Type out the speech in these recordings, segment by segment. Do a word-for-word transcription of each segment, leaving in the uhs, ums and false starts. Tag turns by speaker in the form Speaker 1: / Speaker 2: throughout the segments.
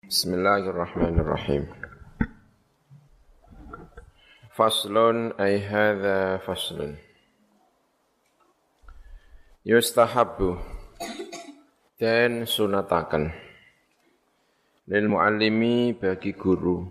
Speaker 1: Bismillahirrahmanirrahim. Faslun ay hadza faslun. Yustahabbu dan sunataken lil muallimi bagi guru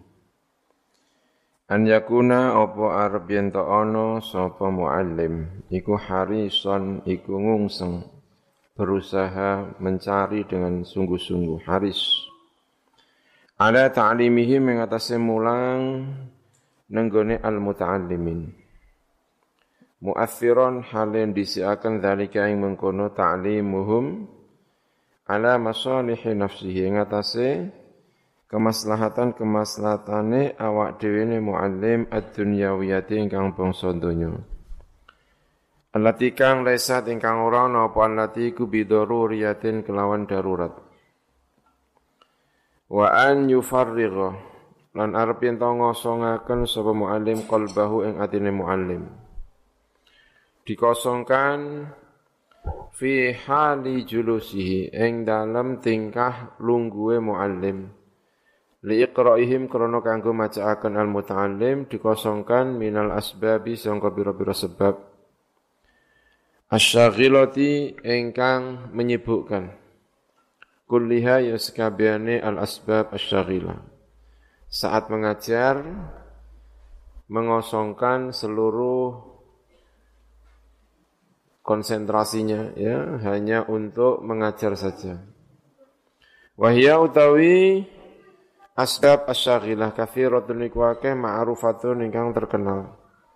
Speaker 1: an yakuna apa arep yen ta ana sapa muallim iku harison iku ngungseng berusaha mencari dengan sungguh-sungguh haris ala ta'limihi mengatasi mulang nenggone al-muta'allimin. Mu'athiron halen disiakan dhalika yang mengkono ta'limuhum ala masalihi nafsihi mengatasi kemaslahatan-kemaslahatane awak dewene mu'allim ad-dunyawiyati ingkang bangsa donya. Allati kang laisat ingkang ora ana apa allati ku bidharuriyatin kelawan darurat. Wa an yufarrigha lan arep yen ta ngosongaken sapa muallim qalbahu ing atine muallim dikosongkan fi hali julusihi ing dalem tingkah lungguhe muallim li iqra'ihim krana kanggo macaaken al muta'allim dikosongkan minal asbabi sangka pira-pira sebab asyaghilati ingkang menyibukkan kulliha ya sekabiane al-asbab asy-syaghilah. Saat mengajar mengosongkan seluruh konsentrasinya ya hanya untuk mengajar saja. Wahya utawi asbab asy-syaghilah katsiratun iku akeh ma'rufatun ingkang terkenal.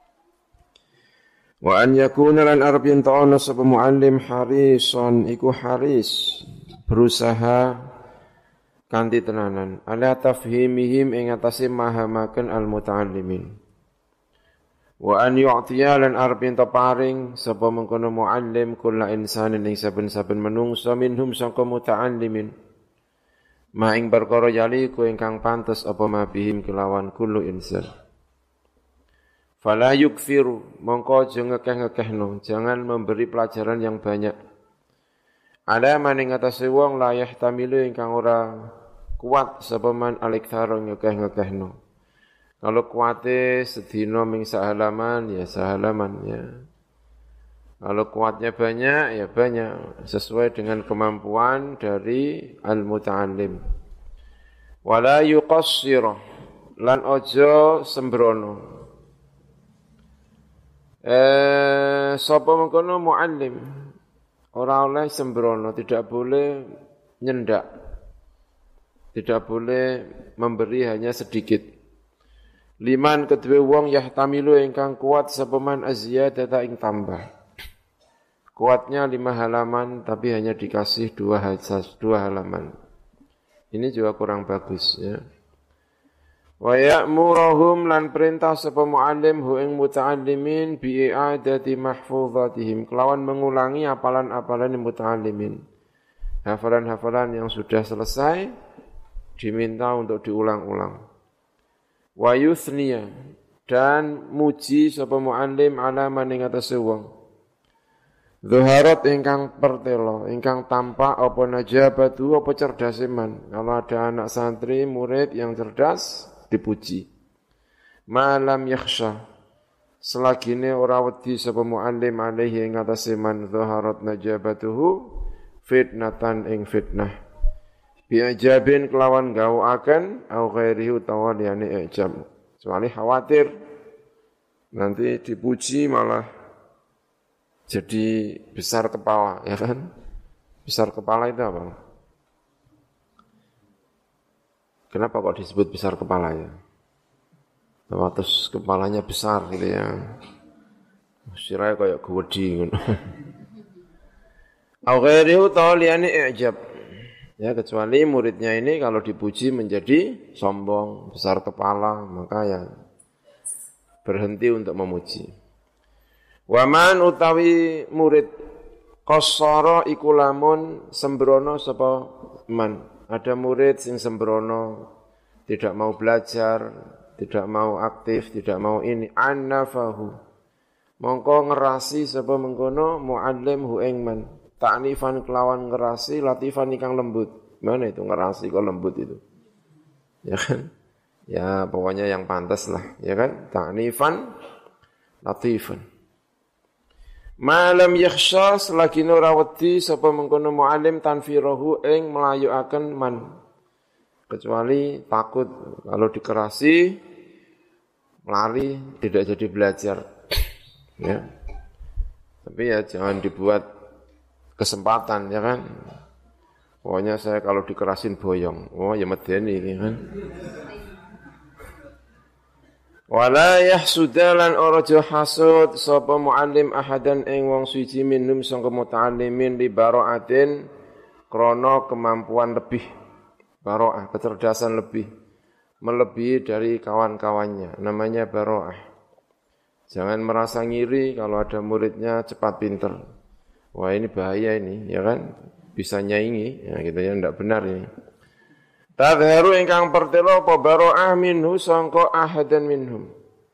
Speaker 1: Wa an yakuna lan arab yen ta'ana sapa muallim harison iku haris berusaha kanthi tenanan ala tafhimihim ing atase mahamaken al muta'allimin wa an yu'tiya lan arep ento paring sapa mengkono muallim kula insanin ing saben-saben menungsa minhum sangka muta'allimin ma ing perkara yali ku ingkang pantes apa mabihim kelawan kullu insan fala yukfiru mongko aja ngekeh-ngekehno jangan memberi pelajaran yang banyak. Ada maning atase wong la yahtamilu ingkang ora kuat sapa man aliktharo ngekeh-ngekehno. Kalau kuate sedina ming sahalaman ya sahalaman ya. Kalau kuatnya banyak ya banyak sesuai dengan kemampuan dari al-muta'allim. Wala yuqassira lan ojo sembrono. Eh sapa mengkono muallim ora oleh sembrono, tidak boleh nyendak. Tidak boleh memberi hanya sedikit. Liman kedue wong yahtamilu ingkang kuat sapa man azyadata ing tambah. Kuatnya lima halaman tapi hanya dikasih dua hasas, dua halaman. Ini juga kurang bagus ya. Wa ya'muruhum lan perintah sapa muallim hu ing muta'allimin bi i'adati mahfuzatihim kelawan mengulangi hafalan-hafalan muta'allimin. Hafalan-hafalan yang sudah selesai diminta untuk diulang-ulang. Wa yuthniya dan muji sapa muallim ala maning atase wong. Zuharat ingkang pertelo, ingkang tampak apa najabatu apa cerdase man. Kalau ada anak santri murid yang cerdas dipuji. Malam yakhsha selagine ora wedi sapa muallim alaihi ing atase man zaharat najabatuhu fitnatan ing fitnah bi ajabin kelawan gawuaken au ghairihi utawa liyane ijab kecuali khawatir nanti dipuji malah jadi besar kepala ya kan besar kepala itu apa? Kenapa kok disebut besar kepalanya? Bahwa terus kepalanya besar gitu ya. Sirahnya kayak gewedi gitu. Au ghairihi ta'liyani i'jab. Ya kecuali muridnya ini kalau dipuji menjadi sombong, besar kepala, maka ya berhenti untuk memuji. Waman utawi murid qassara iku lamun sembrono sapa man. Ada murid sing sembrono, tidak mau belajar, tidak mau aktif, tidak mau ini. Annafahu. Mongko ngerasi sapa mengkono muallim hu ing man. Ta'nifan kelawan ngerasi, latifan ikang lembut. Mana itu ngerasi kok lembut itu? ya kan? Ya pokoknya yang pantas lah, ya kan? Ta'nifan latifan. Malam yakhsha selagi ora wedi sapa mengkono muallim tanfirahu ing melayuaken man. Kecuali takut kalau dikerasi lari tidak jadi belajar. Ya. Tapi ya jangan dibuat kesempatan, ya kan? Pokoknya saya kalau dikerasin boyong. Oh ya medeni ini kan. Wala yahsudalan oraja hasud sapa muallim ahadan ing wong suci minum sangka muta'allimin li bara'atin krana kemampuan lebih, bara'ah kecerdasan lebih, melebihi dari kawan-kawannya, namanya bara'ah. Jangan merasa ngiri kalau ada muridnya cepat pinter. Wah ini bahaya ini, ya kan? Bisa nyaingi, ya gitu ya, enggak benar ini. Tadharu ingkang pertelo apa bara'ah minhu sangka ahadan minhum.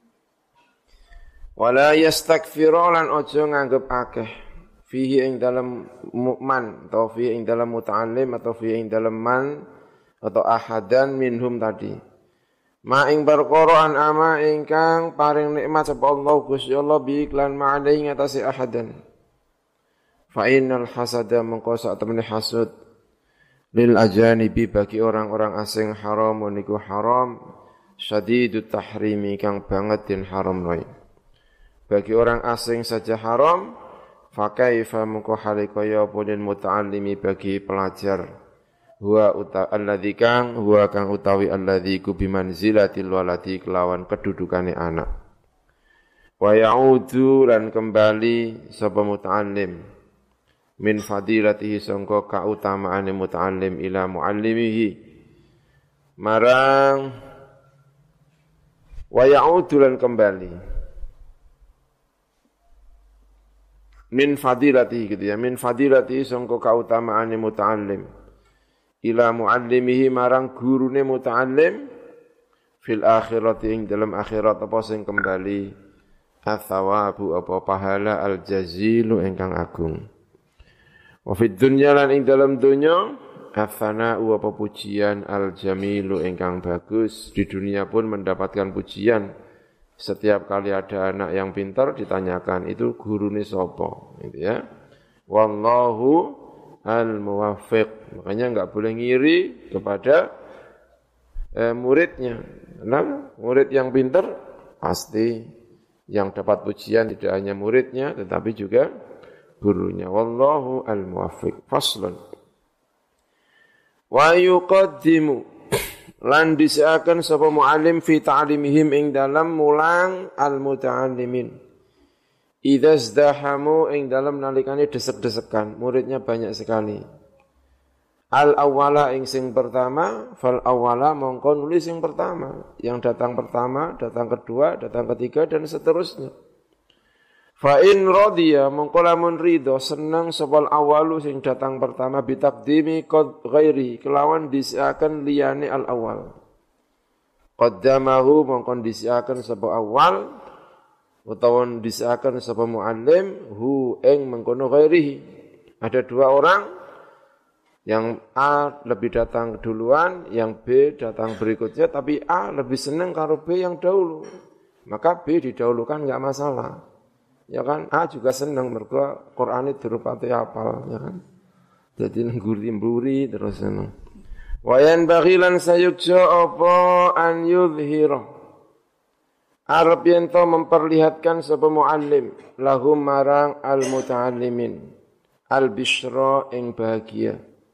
Speaker 1: Wala yastakfiru lan ojo nganggep akeh. Fihi ing dalam mu'man, atau fihi ing dalam muta'allim, atau fihi ing dalam man, atau ahadan minhum tadi. Ma ing perkara an ama ingkang paring nikmat sapa Allah Gusti Allah bi iklan ma'alai ngatasi ahadan. Fa innal hasada mengko sak temene hasud lil ajanibi bagi orang-orang asing haram niku haram syadidut tahrimi kang banget den haram noy. Bagi orang asing saja haram, fa kaifa mengko hale kaya pun muta'allimi bagi pelajar. Huwa uta alladzi kang huwa kang utawi alladzi ku bimanzilatil waladi kelawan kedudukane anak. Wa ya'udu lan kembali sapa muta'allim min fadilatihi sangka kautamaane muta'allim ila muallimihi marang wa ya'udu lan kembali min fadilatihi gitu ya, min fadilatihi sangka kautamaane muta'allim ila muallimihi marang gurune muta'allim fil akhirati ing dalam akhirat apa sing kembali athawabu apa pahala al jazilu ingkang agung. Wa fid dunya lan ing dalam dunya atsana'u apa pujian al jamilu ingkang bagus. Di dunia pun mendapatkan pujian. Setiap kali ada anak yang pintar ditanyakan itu gurune sapa gitu ya. Wallahu al muwaffiq. Makanya enggak boleh ngiri kepada eh, muridnya. Karena murid yang pintar pasti yang dapat pujian tidak hanya muridnya tetapi juga gurunya. Wallahu al-muwaffiq. Faslun. Wa yuqaddimu lan disiakan sapa muallim fi ta'limihim ing dalam mulang al-muta'allimin. Idza zdahamu ing dalam nalikane desek-desekan, muridnya banyak sekali. Al-awwala ing sing pertama, fal awwala mongko nulis sing pertama, yang datang pertama, datang kedua, datang ketiga dan seterusnya. Fa in radiya mongko lamun ridho seneng sapa awalu sing datang pertama bitaqdimi qad ghairi kelawan disiakan liyane al awal. Qaddamahu mongko disiakan sapa awal utawa disiakan sapa muallim hu ing mengkono ghairihi. Ada dua orang yang A lebih datang duluan, yang B datang berikutnya tapi A lebih seneng karo B yang dahulu. Maka B didahulukan enggak masalah. Ya kan, A juga senang mergo Qur'ane dirupati hafal, ya kan. Dadi ngguri-mburi terus seneng. Wa yan baghilan sayukja apa an yudhira. Arab yen to memperlihatkan sapa muallim lahum marang al muta'allimin al bisyra ing bahagia.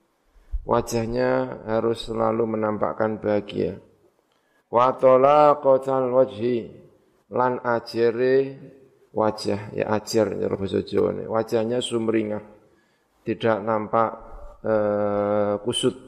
Speaker 1: Wajahnya harus selalu menampakkan bahagia. Wa talaqatal wajhi lan ajere wajah, ya ajar ya bahasa Jawa, wajahnya sumringah, tidak nampak uh, kusut.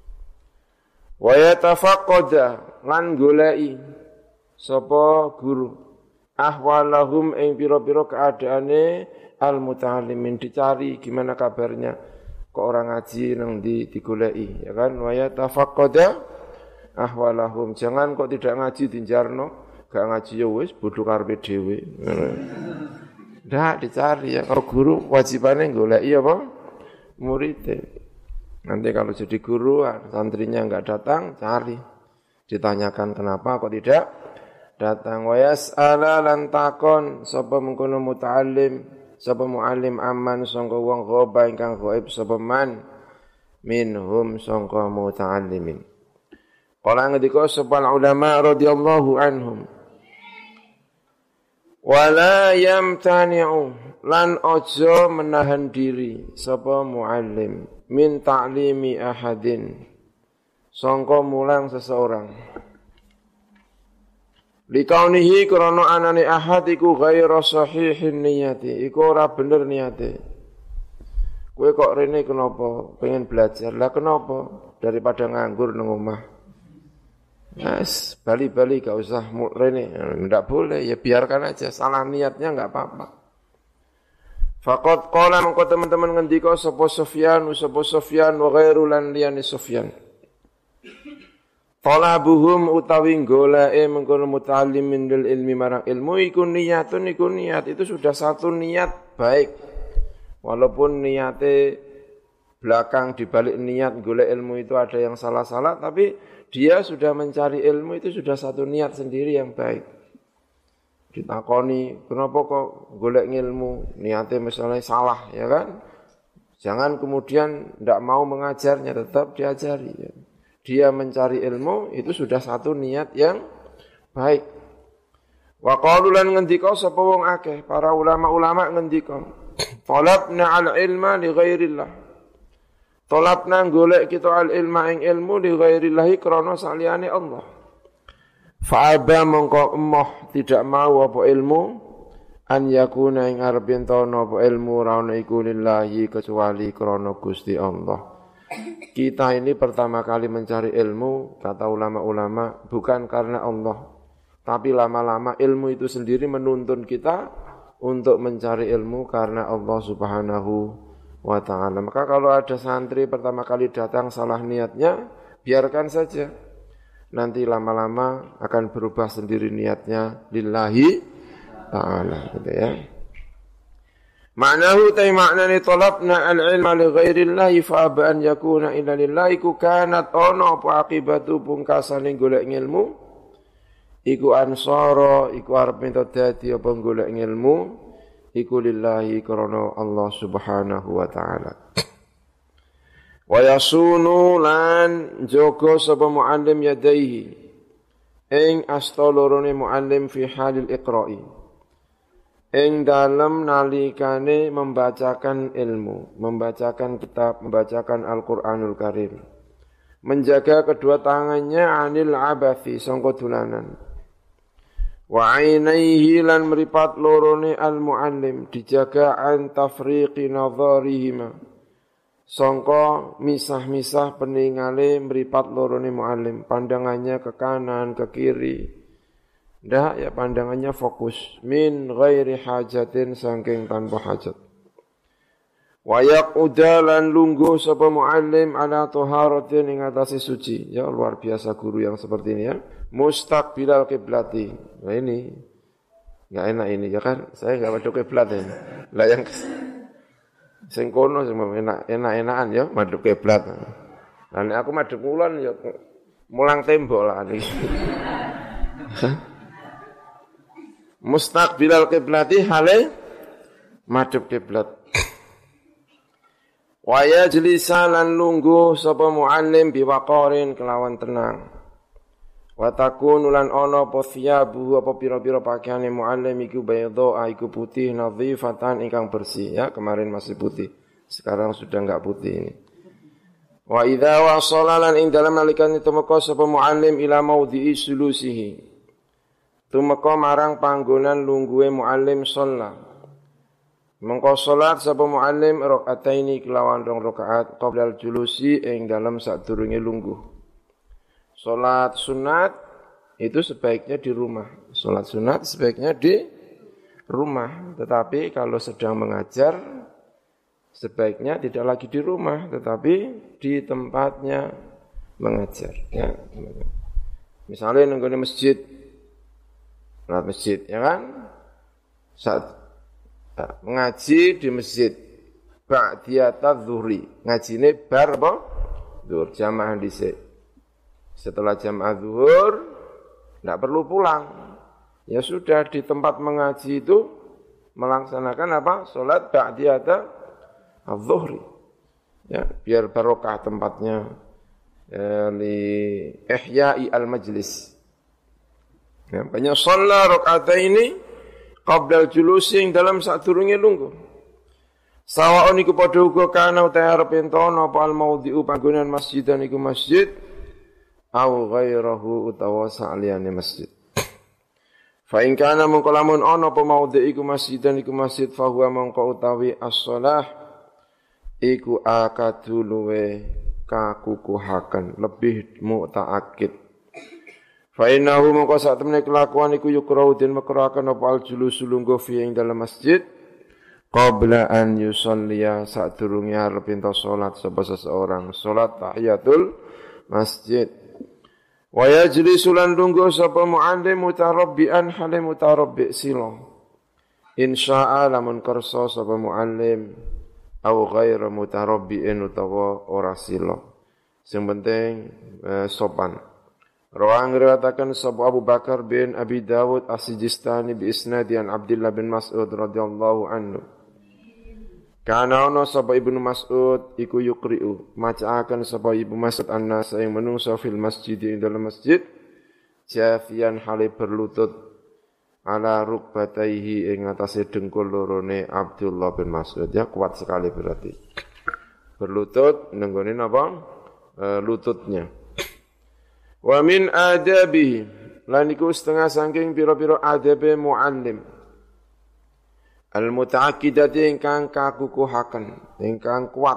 Speaker 1: Wa yatafaqqada lan goleki sapa guru ahwalahum ing pira-pira keadaane al muta'allimin, dicari gimana kabarnya kok orang ngaji nang di digoleki, ya kan. Wa yatafaqqada ahwalahum, jangan kok tidak ngaji dinjarno. Gak ngaji ya wis bodho karepe dhewe. Ndak dicari ya, kalau guru wajibannya goleki apa? Murid. Nanti kalau jadi guru santrinya enggak datang, cari. ditanyakan kenapa kok tidak datang. Wa yas'ala lan takon sapa mengkono muta'allim, sapa muallim aman sangka wong ghaiba ingkang ghaib sapa man minhum sangka muta'allimin. Kala ngendika sapa ulama radhiyallahu anhum, wala yamtani'u lan ojo menahan diri sapa muallim min ta'limi ahadin sangka mulang seseorang. Likaunihi krana anane ahad iku ghairu sahihin niyati, iku ora bener niate. Kowe kok rene kenapa pengen belajar? Lah kenapa? Daripada nganggur nang omah. Yes, bali-bali gak usah rene, ndak boleh, ya biarkan aja, salah niatnya enggak apa-apa. Faqad qala mengko teman-teman ngendika sapa Sufyan, sapa Sufyan wa ghairu lan liyani Sufyan. Talabuhum utawi goleke mengkono muta'allimin lil ilmi marang ilmu iku niyatun iku niat, itu sudah satu niat baik. Walaupun niate belakang dibalik niat golek ilmu itu ada yang salah-salah, tapi dia sudah mencari ilmu itu sudah satu niat sendiri yang baik. Ditakoni, kenapa kok golek ilmu? Niatnya misalnya salah, ya kan? Jangan kemudian tidak mau mengajarnya, tetap diajari. Ya. Dia mencari ilmu itu sudah satu niat yang baik. Wa qalu lan ngendika sapa wong akeh, para ulama-ulama ngendika, talabna al-ilma li ghairillah. Talabna golek kita al-ilma ing ilmu li ghairillah krana saliyane Allah. Fa'aba mongko emoh tidak mau apa ilmu an yakuna ing arep entono apa ilmu ra ono iku lillahi kecuali krana Gusti Allah. Kita ini pertama kali mencari ilmu, kata ulama-ulama, bukan karena Allah, tapi lama-lama ilmu itu sendiri menuntun kita untuk mencari ilmu karena Allah Subhanahu wa ta'ala. Maka kalau ada santri pertama kali datang salah niatnya, biarkan saja. Nanti lama-lama akan berubah sendiri niatnya lillahi ta'ala, gitu ya. Ma'nahu tay maknani talabna al-ilma li ghairillahi fa aba an yakuna illa lillahi ku kanat ono apa akibatu pungkasane golek ilmu iku ansara iku arep minta dadi apa golek ilmu iku lillahi krana Allah Subhanahu wa ta'ala. Wa yasunu lan jaga sapa muallim yadaihi ing asta lorone muallim fi halil iqra'i ing dalam nalikane membacakan ilmu, membacakan kitab, membacakan Al-Qur'anul Karim. Menjaga kedua tangannya anil abathi sangka dolanan. Wa ainaihi lan mripat lorone al-muallim dijaga an tafriqi nadharihima. Sangka misah-misah peningale mripat lorone muallim, pandangannya ke kanan, ke kiri. Ndak ya pandangannya fokus min ghairi hajatin saking tanpa hajat. Wa yaquda lan lungguh sapa muallim ala taharatin ing atase suci. Ya luar biasa guru yang seperti ini ya. Mustaqbilal qiblati. Nah ini enggak enak ini ya kan. Saya enggak madhep kiblat ini. Lah yang sing kono sing enak enak-enakan ya madhep kiblat. Lah nek aku madhep kulon ya mulang tembok lah iki. Mustaqbilal qiblati hale madhep kiblat. Wa yajlisa lan lungguh sapa muallim biwaqarin kelawan tenang. Wa takunu lan ana apa thiyabu apa pira-pira pakaiane muallim iku bayadha iku putih nadhifatan ingkang bersih ya, kemarin masih putih. Sekarang sudah enggak putih ini. Wa idza wasala lan ing dalam nalikane tumeka sapa muallim ila maudhi'i sulusihi. Tumeka marang panggonan lungguhe muallim sholat. Mengko sholat sapa muallim rakaataini kelawan rong rakaat qabla julusi ing dalam sadurunge lungguh. Sholat sunat itu sebaiknya di rumah. Sholat sunat sebaiknya di rumah. Tetapi kalau sedang mengajar sebaiknya tidak lagi di rumah, tetapi di tempatnya mengajar. Ya. Misalnya nang masjid. Sholat masjid, ya kan? Saat ngaji di masjid, ba'diyata dhuhri, ngajine bar apa? Dhuhur, jamaah dhisik. Setelah jam zuhur, tidak perlu pulang. Ya sudah di tempat mengaji itu melaksanakan apa? Salat ba'diyata az-zuhri. Ya, biar barokah tempatnya ya, li ihya'i al-majlis. Ya, banyak sholat rakaat ini qabla al-julusi yang dalam saat durunge lungguh. Sawa'un iku padha uga kana utahe arep entono apa al-maudhi'u panggonan masjidan iku masjid au ghairahu utawa saliyane masjid. Fa in kana mongko lamun ana apa maudhi' iku masjidan iku masjid fa huwa mongko utawi as-shalah iku akadu luwe kakukuhaken lebih mu'ta'akkid. Fa innahu mongko sak temene kelakuan iku yukrau den makruhaken apa al-julus lungguh fi ing dalam masjid qabla an yusalliya sadurunge arep ento salat sapa seseorang salat tahiyatul masjid wa yajlisu lan lungguh sapa muallim mutarabbian hale mutarabbi sila insya'a lamun kersa sapa muallim au ghairu mutarabbiin utawa ora sila sing penting eh, sopan. Rawang riwayataken sapa Abu Bakar bin Abi Dawud As-Sijistani bi isnadi an Abdullah bin Mas'ud radhiyallahu anhu. Kana ana sapa Ibnu Mas'ud iku yukri'u macaaken sapa Ibnu Mas'ud annas ing menungso fil masjid ing dalam masjid jafian hale berlutut ala rukbataihi ing atase dengkul lorone Abdullah bin Mas'ud ya kuat sekali berarti berlutut nenggone napa e, lututnya wa min adabihi lan iku setengah saking pira-pira adabe muallim al-muta'akkidati ingkang kakukuhaken, ingkang kuat.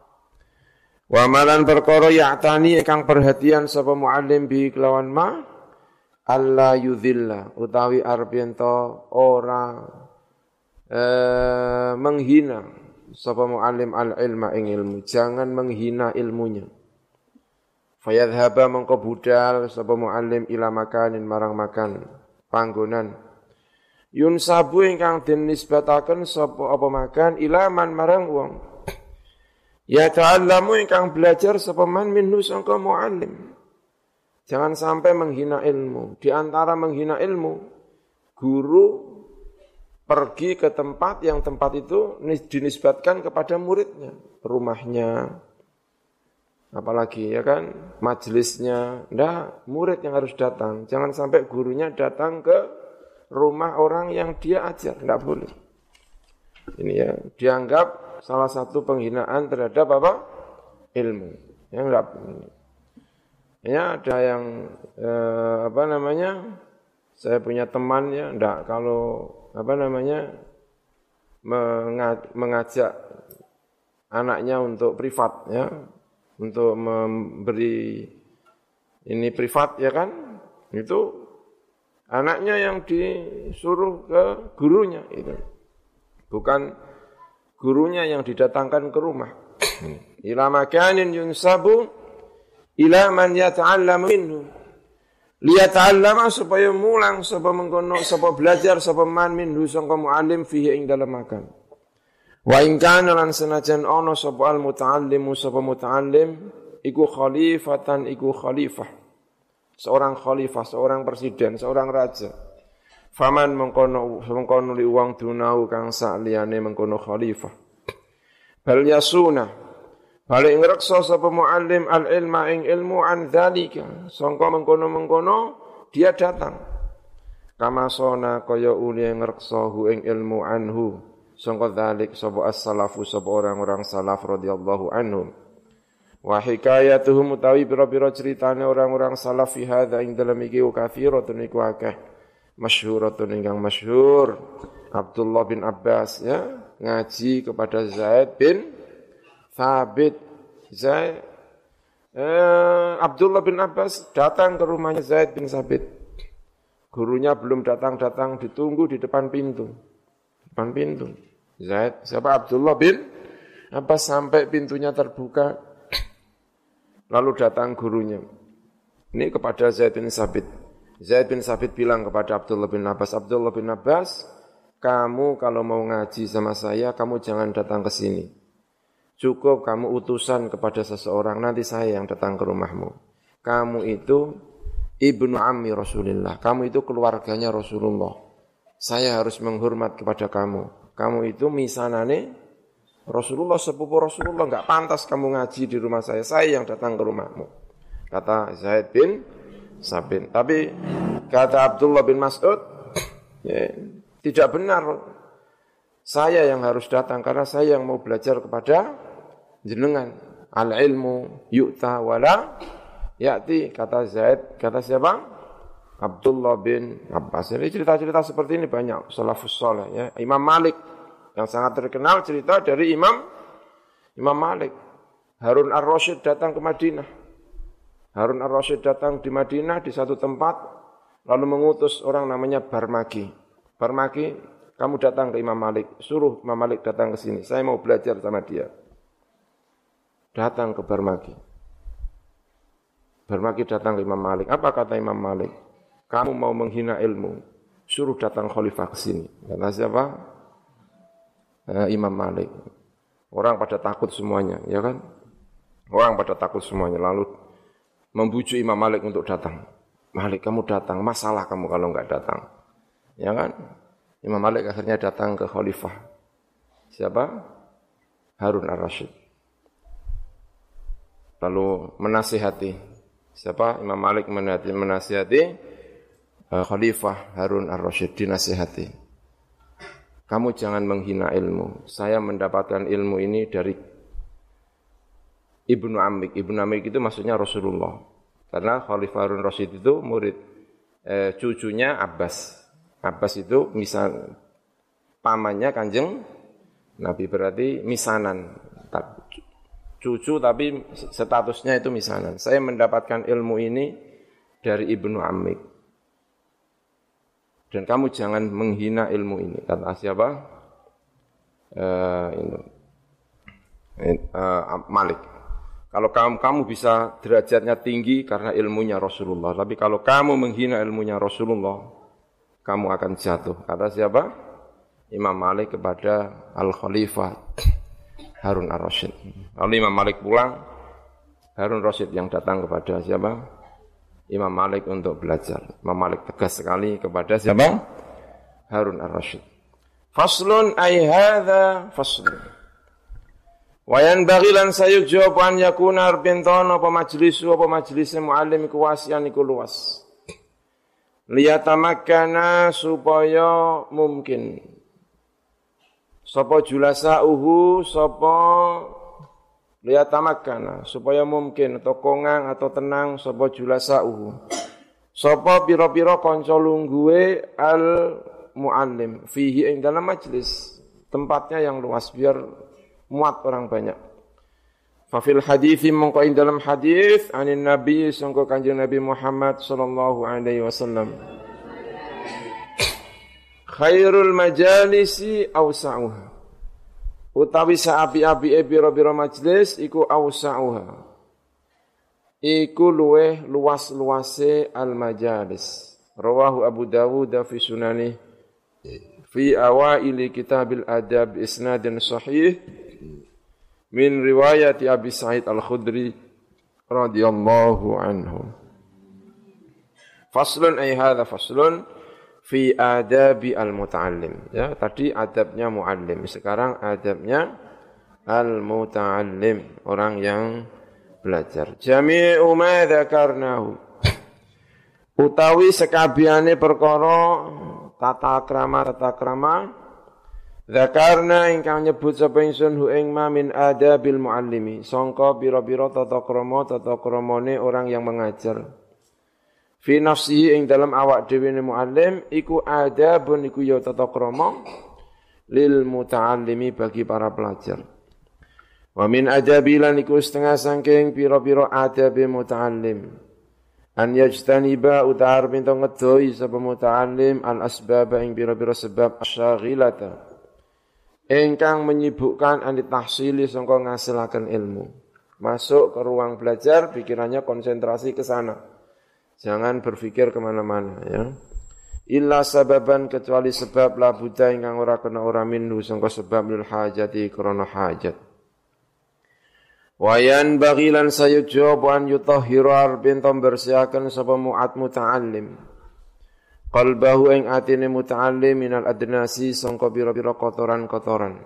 Speaker 1: Wa malan perkara ya'tani ingkang perhatian sapa muallim bi kelawan ma alla yudhilla utawi arep yen ora eh, menghina sapa muallim al-ilma ing ilmu, jangan menghina ilmunya. Fayadhhaba mengko budal sapa muallim ila makanin marang makan panggonan yunsabu ingkang den nisbataken sapa apa makan ilaman marang wong ya ta'allamu ingkang belajar sapa man minhu sangka muallim. Jangan sampai menghina ilmu. Di antara menghina ilmu, guru pergi ke tempat yang tempat itu dinisbatkan kepada muridnya, rumahnya, apalagi ya kan majelisnya. Ndak, murid yang harus datang. Jangan sampai gurunya datang ke rumah orang yang dia ajar, tidak boleh. Ini ya, dianggap salah satu penghinaan terhadap apa? Ilmu. Ya enggak. Ya ada yang eh, apa namanya? Saya punya teman ya, enggak kalau apa namanya? mengajak anaknya untuk privat ya, untuk memberi ini privat ya kan? Itu anaknya yang disuruh ke gurunya itu. Bukan gurunya yang didatangkan ke rumah. Ila makanin yunsabu ila man yata'allamu minhu. Liyata'allama supaya mulang sapa mengkono sapa belajar sapa man minhu sangka muallim fihi ing dalam makan. Wa in kana lan senajan ana sapa al muta'allimu sapa muta'allim iku khalifatan iku khalifah. Seorang khalifah, seorang presiden, seorang raja. Faman mengkono mengkono li uang dunau kang saliyane mengkono khalifah. Bal yasuna balik ngrekso sapa muallim al ilma ing ilmu an dzalika. Sangka mengkono-mengkono dia datang. Kama sona kaya uli ngrekso hu ing ilmu anhu. Sangka dzalik sapa as-salafu sapa orang-orang salaf radhiyallahu anhum. Wa hikayatuhum utawi pira-pira ceritane orang-orang salaf fi hadza ing dalam iki kathiratun iku akeh masyhuratun ingkang masyhur Abdullah bin Abbas ya ngaji kepada Zaid bin Thabit. Zaid eh, Abdullah bin Abbas datang ke rumahnya Zaid bin Thabit. Gurunya belum datang-datang, ditunggu di depan pintu. Depan pintu. Zaid siapa Abdullah bin Abbas sampai pintunya terbuka. Lalu datang gurunya. Ini kepada Zaid bin Thabit. Zaid bin Thabit bilang kepada Abdullah bin Abbas, Abdullah bin Abbas, kamu kalau mau ngaji sama saya, kamu jangan datang ke sini. Cukup kamu utusan kepada seseorang, nanti saya yang datang ke rumahmu. kamu itu ibnu ammi Rasulillah, kamu itu keluarganya Rasulullah. Saya harus menghormat kepada kamu. Kamu itu misanane Rasulullah, sepupu Rasulullah, enggak pantas kamu ngaji di rumah saya. Saya yang datang ke rumahmu. Kata Zaid bin Sabit. Tapi kata Abdullah bin Mas'ud, ya, tidak benar. Saya yang harus datang karena saya yang mau belajar kepada jenengan. Al-ilmu yu'ta wala ya'ti, kata Zaid, kata siapa? Abdullah bin Abbas. Jadi cerita-cerita seperti ini banyak salafus saleh ya. Imam Malik yang sangat terkenal cerita dari Imam Imam Malik. Harun ar-Rasyid datang ke Madinah. Harun ar-Rasyid datang di Madinah di satu tempat lalu mengutus orang namanya Barmaki. Barmaki, kamu datang ke Imam Malik, suruh Imam Malik datang ke sini. Saya mau belajar sama dia. Datang ke Barmaki. Barmaki datang ke Imam Malik. Apa kata Imam Malik? Kamu mau menghina ilmu, suruh datang khalifah ke sini. Kata siapa? Uh, Imam Malik. Orang pada takut semuanya, ya kan? Orang pada takut semuanya. Lalu membujuk Imam Malik untuk datang. Malik, kamu datang. Masalah kamu kalau enggak datang, ya kan? Imam Malik akhirnya datang ke khalifah. Siapa? Harun ar-Rasyid. Lalu menasihati. Siapa? Imam Malik menasihati, menasihati uh, Khalifah Harun ar-Rasyid, dinasihati. Kamu jangan menghina ilmu. Saya mendapatkan ilmu ini dari Ibnu Amik. Ibnu Amik itu maksudnya Rasulullah. Karena Khalifah Harun ar-Rasyid itu murid eh, cucunya Abbas. Abbas itu misal pamannya Kanjeng Nabi, berarti misanan. Cucu tapi statusnya itu misanan. Saya mendapatkan ilmu ini dari Ibnu Amik. Dan kamu jangan menghina ilmu ini. Kata siapa? Uh, ini. Uh, Malik. Kalau kamu, kamu bisa derajatnya tinggi karena ilmunya Rasulullah. Tapi kalau kamu menghina ilmunya Rasulullah, kamu akan jatuh. Kata siapa? Imam Malik kepada Al-Khalifah Harun ar-Rasyid. Lalu Imam Malik pulang, Harun ar-Rasyid yang datang kepada siapa? Imam Malik untuk belajar. Imam Malik tegas sekali kepada siapa? Harun ar-Rasyid. Faslun ay hadza faslun. Wa yanbaghi lan sayujab an yakuna arbintana apa majlisu apa majlis muallim iku wasian iku luas. Liyatamakkana supaya mungkin. Sapa julasauhu sapa liyatamakkana supaya mungkin atau kongang atau tenang sapa julasauhu. Sapa pira-pira kanca lungguhe al muallim fihi ing dalam majlis, tempatnya yang luas biar muat orang banyak. Fa fil hadithi mongko ing dalam hadis anin nabi sangko kanjeng Nabi Muhammad sallallahu alaihi wasallam, khairul majalisi awsa'uha, utawi saapi-apike pira-pira majlis iku awsa'uha, iku luweh luas-luase al majalis. Rawahu Abu Dawud fi sunani fi awaili kitabil adab isnadin sahih min riwayati Abi Sa'id Al-Khudri radhiyallahu anhu. Faslun ay hadha faslun fi adabi al-muta'allim. Ya, tadi adabnya muallim, sekarang adabnya al-muta'allim, orang yang belajar. Jami'u ma dzakarnahu, utawi sekabehane perkara tata krama tata krama dzakarna ingkang nyebut sapa ingsun hu ing ma min adabil muallimi, sangka pira-pira tata krama tata kramane orang yang mengajar. Fi nafsihi ing dalam awak dhewe ne muallim iku adabun iku ya tata krama lil muta'allimi bagi para pelajar. Wa min adabilan iku setengah saking pira-pira adabe muta'allim an yajtaniba utar pinto ngedoi sapa muta'allim al asbab ing pira-pira sebab asyaghilata ingkang menyibukkan anit tahsili sangka ngasilaken ilmu. Masuk ke ruang belajar pikirannya konsentrasi ke sana. Jangan berpikir kemana-mana, ya. Illa sababan kecuali sebab la buddha ingkang ora kena ora minhu sangka sebab lil hajati krana hajat. Wayan bagilan sayujo an yutahhiru arbin tom bersihaken sapa mu'at muta'allim. Qalbahu ing atine muta'allim minal adnasi sangka pira-pira kotoran-kotoran.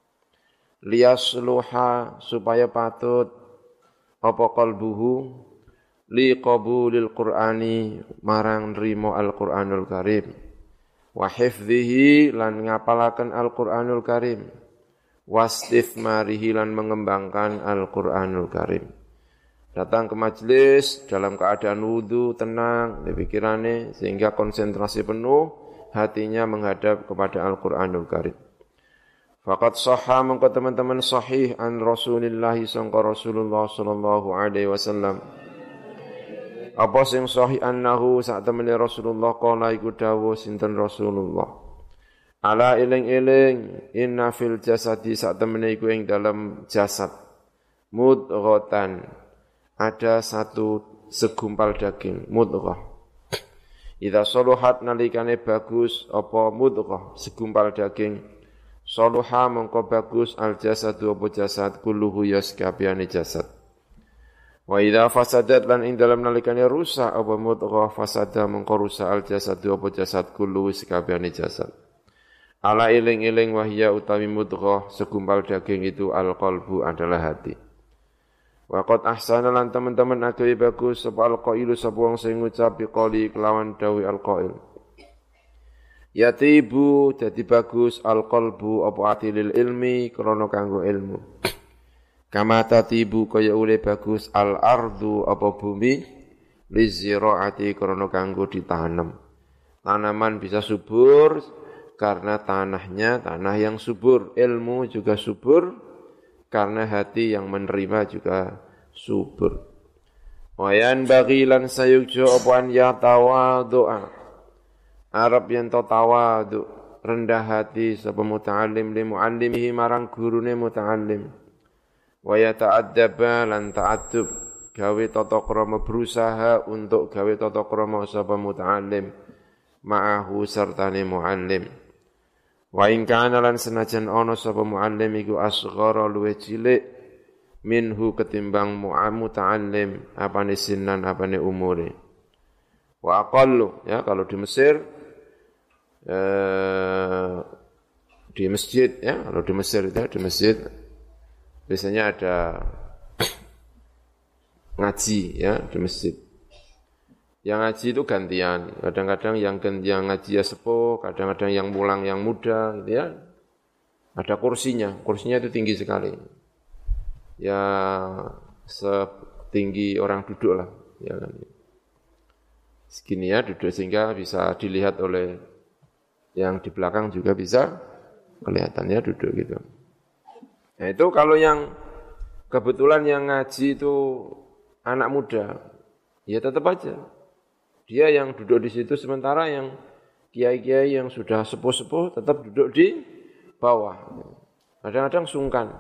Speaker 1: Liyasluha supaya patut apa qalbuhu li qabulil qur'ani marang nrimo al-Qur'anul Karim. Wa hifdhihi lan ngapalaken al-Qur'anul Karim. Wastifmarihi lan mengembangkan Al-Qur'anul Karim. Datang ke majelis dalam keadaan wudu, tenang di pikirannya sehingga konsentrasi penuh hatinya menghadap kepada Al-Qur'anul Karim. Faqad sahha mengko teman-teman sahih an Rasulillah sangka Rasulullah sallallahu alaihi wasallam. Apa sing sahih annahu sak temene Rasulullah qala iku dawuh sinten Rasulullah. Ala iling-iling inna fil jasadi sak temene iku ing dalam jasad mudghatan ada satu segumpal daging mudghah. Idza saluhat nalikane bagus apa mudghah segumpal daging saluha mengko bagus al jasadu apa jasad kulluhu yaskabiyane jasad. Wa idza fasadat lan ing dalam nalikane rusak apa mudghah fasada mengko rusak al jasadu apa jasad kulluhu yaskabiyane jasad. Ala iling-iling wahya utawi mudghah segumpal daging itu al-qalbu adalah hati. Wa qad ahsana lan teman-teman agawe bagus sapa al-qailu sapa wong sing ngucap biqali kelawan dawi al-qail. Yatibu dadi bagus al-qalbu apa atilil ilmi krana kanggo ilmu. Kama tatibu kaya ule bagus al-ardu apa bumi liziraati krana kanggo ditanam. Tanaman bisa subur karena tanahnya tanah yang subur, ilmu juga subur karena hati yang menerima juga subur. Wayan bagilan sayukjo apuan ya tawadu'a. Arab yang tawadu rendah hati sapa muta'allim li mu'allimihi marang gurune muta'allim. Wa yata'addaba lan ta'addub gawe tata krama berusaha untuk gawe tata krama sapa muta'allim ma'ahu sertane mu'allim. Wa in kana lan senajan ana sapa muallim iku asghara luwih cilik minhu ketimbang muta'allim apane sinan apane umure. Wa aqallu ya kalau di Mesir eh, di masjid ya kalau di Mesir itu di masjid biasanya ada ngaji ya di masjid. Yang ngaji itu gantian, kadang-kadang yang yang ngaji ya sepuh, kadang-kadang yang pulang yang muda, gitu ya. Ada kursinya, kursinya itu tinggi sekali. Ya setinggi orang duduk lah, ya kan. Segini ya duduk sehingga bisa dilihat oleh yang di belakang juga bisa kelihatannya duduk gitu. Nah itu kalau yang kebetulan yang ngaji itu anak muda, ya tetap aja. Dia yang duduk di situ sementara yang kiai-kiai yang sudah sepuh-sepuh tetap duduk di bawah. Kadang-kadang sungkan.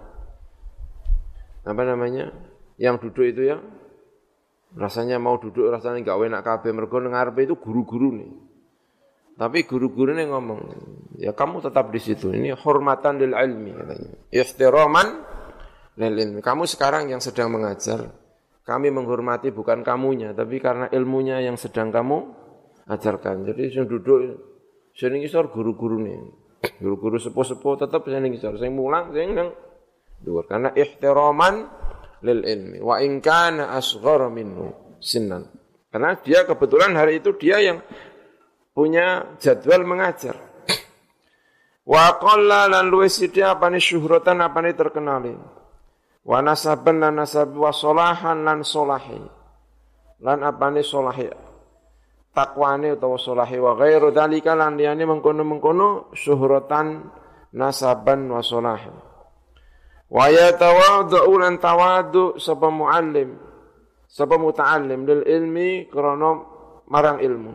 Speaker 1: Apa namanya? Yang duduk itu ya rasanya mau duduk rasanya enggak enak kabeh mergo ngarepe itu guru-guru nih. Tapi guru-guru ini ngomong, ya kamu tetap di situ. Ini hormatan lil ilmi katanya. Ihtiraman lil ilmi. Kamu sekarang yang sedang mengajar. Kami menghormati bukan kamunya, tapi karena ilmunya yang sedang kamu ajarkan. Jadi yang duduk, sing ngisor guru-guru nih. Guru-guru sepuh-sepuh tetap sing ngisor. Sing mulang, sing nang dhuwur. Karena ihtiraman lil ilmi. Wa in kana asghara minhu sinnan. Karena dia kebetulan hari itu dia yang punya jadwal mengajar. Wa qalla lan luwih sithik apane syuhratan apane terkenali. Wa nasaban lan nasab wa solahan lan solahi. Lan apane solahi. Takwane utawa solahi wa ghairu dzalika lan liyane mengkono-mengkono syuhratan nasaban wa solahi. Wa yatawaddu lan tawaddu sapa muallim sapa muta'allim lil ilmi krana marang ilmu.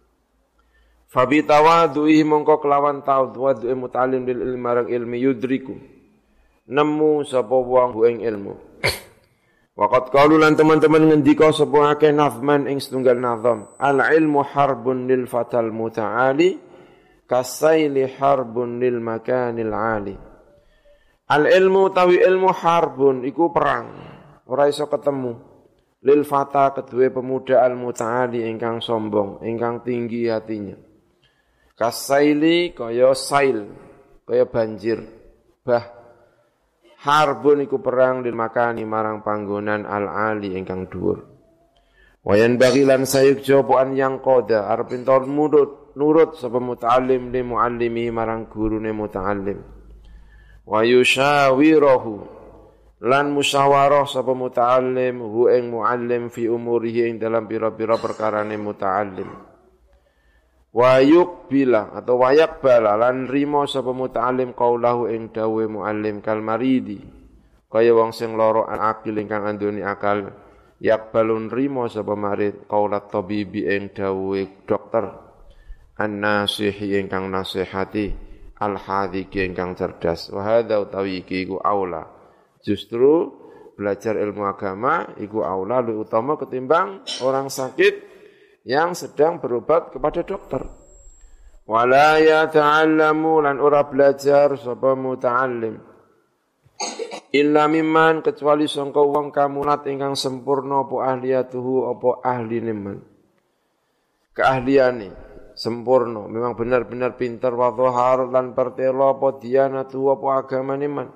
Speaker 1: Fabi tawadduhi mongko kelawan tawaddu muta'allim lil ilmi marang ilmi yudriku. Nemu sapa wong ing ilmu. Waqat qalu lan teman-teman ngendika sapa akeh nazman ing setunggal nazam. Al ilmu harbun lil fatal muta'ali kasaili harbun lil makanil ali. Al ilmu tawi ilmu harbun iku perang. ora iso ketemu lil fata kedue pemuda al mutaali ingkang sombong ingkang tinggi hatinya kasaili kaya sail kaya banjir bah harbun iku perang lil makani marang panggonan al ali ingkang dhuwur wayan bagilan sayuk jopoan yang koda arep entor nurut nurut sapa muta'allim li muallimi marang gurune muta'allim wa yushawirahu lan musyawarah sapa muta'allim hu ing muallim fi umurihi ing dalam pira-pira perkarane muta'allim wa yuqbila atau wa yaqbala lan rimo sapa muta'allim qaulahu ing dawuhe muallim kal maridi kaya wong sing lara akil ingkang andoni akal yaqbalun rimo sapa marid qaulat tabibi ing dawuhe dokter an-nasihi ingkang nasihati al-hadiki ingkang cerdas wa hadza utawi iki iku aula justru belajar ilmu agama iku aula lebih utama ketimbang orang sakit yang sedang berobat kepada dokter. Wala yata'allamu lan ora belajar sapa muta'allim. Illa mimman kecuali sangka wong kamulat ingkang sempurna apa ahliyatuhu apa ahline man. Keahliane sempurna, memang benar-benar pintar wa dhahar lan pertela apa dianatu apa agamane man.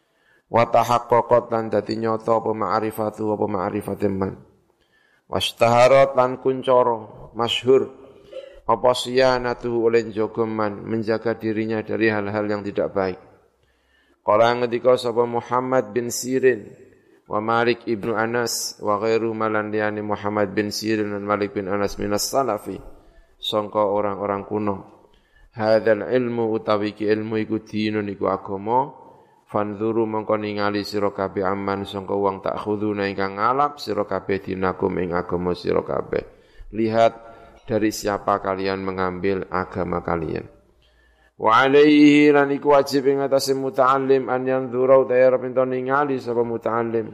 Speaker 1: Wa tahaqqaqat lan dadi nyata apa ma'rifatu apa ma'rifate man. Wastaharat lan kuncoro masyhur apa siyanatuhu oleh jogoman menjaga dirinya dari hal-hal yang tidak baik. Qala ngendika sapa Muhammad bin Sirin wa Malik ibnu Anas wa ghairu malan liyani Muhammad bin Sirin dan Malik bin Anas minas salafi sangka orang-orang kuno. Hadzal ilmu utawi ki ilmu iku dinun iku agama. Fanzuru mongko ningali sira kabeh aman sangka wong tak khuduna ingkang ngalap sira kabeh dinakum ing agama sira kabeh. Lihat dari siapa kalian mengambil agama kalian. Wa alaihi lan iku wajib ing atase muta'allim an yanzura utawa pinto ningali sapa muta'allim.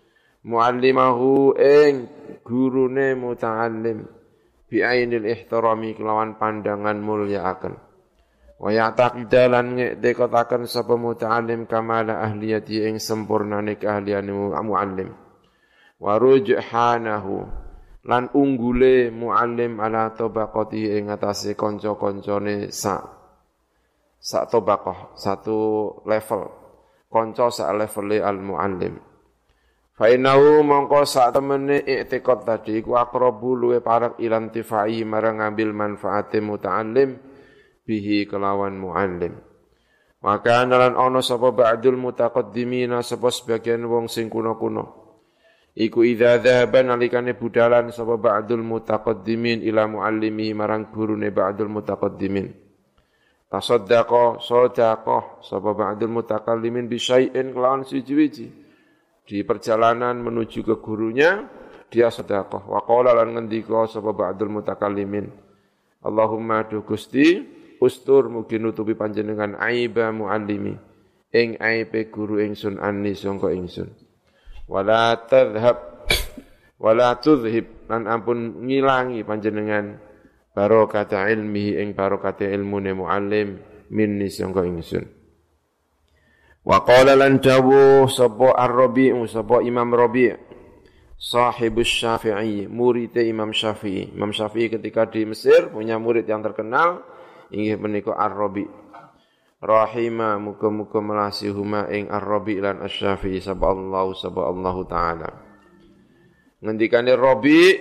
Speaker 1: Muallimahu ing gurune muta'allim bi ainil ihtirami kelawan pandangan mulyaaken. Wa ya'taqidalan ngekdekotaken sapa muta'allim kamala ahliyati ing sempurnane keahliane muallim wa rujhanahu lan unggule muallim ala tabaqati ing atase kanca-kancane sak sak tabaqah satu level kanca sak levele al muallim fa innahu mongko sak temene i'tiqad tadi iku aqrabu luwe parek ilantifai marang ngambil manfaate muta'allim bihi kelawan muallim. Maka analan ono sapa ba'dul mutaqaddimina sapa sebagian wong sing kuno-kuno. Iku idza dzahaba nalikane budalan sapa ba'dul mutaqaddimin ila muallimi marang gurune ba'dul mutaqaddimin. Tasaddaqa sadaqah sapa ba'dul mutakallimin bi syai'in kelawan siji-wiji. Di perjalanan menuju ke gurunya dia sedekah. Wa qala lan ngendika sapa ba'dul mutakallimin. Allahumma du Gusti ustur mugi nutupi panjenengan aiba muallimi ing aibe guru ingsun anni sangka ingsun wala tadhhab wala tudhhib lan ampun ngilangi panjenengan barokah ilmihi ing barokah ilmune muallim minni sangka ingsun wa qala lan dawu sapa ar-rabi' sapa imam rabi' sahibus syafi'i murid imam syafi'i imam syafi'i ketika di Mesir punya murid yang terkenal inggih menika Ar-Rabi. Rahima muga-muga melasihuma ing Ar-Rabi lan Asy-Syafi'i sapa Allah sapa Allah taala. Ngendikane Rabi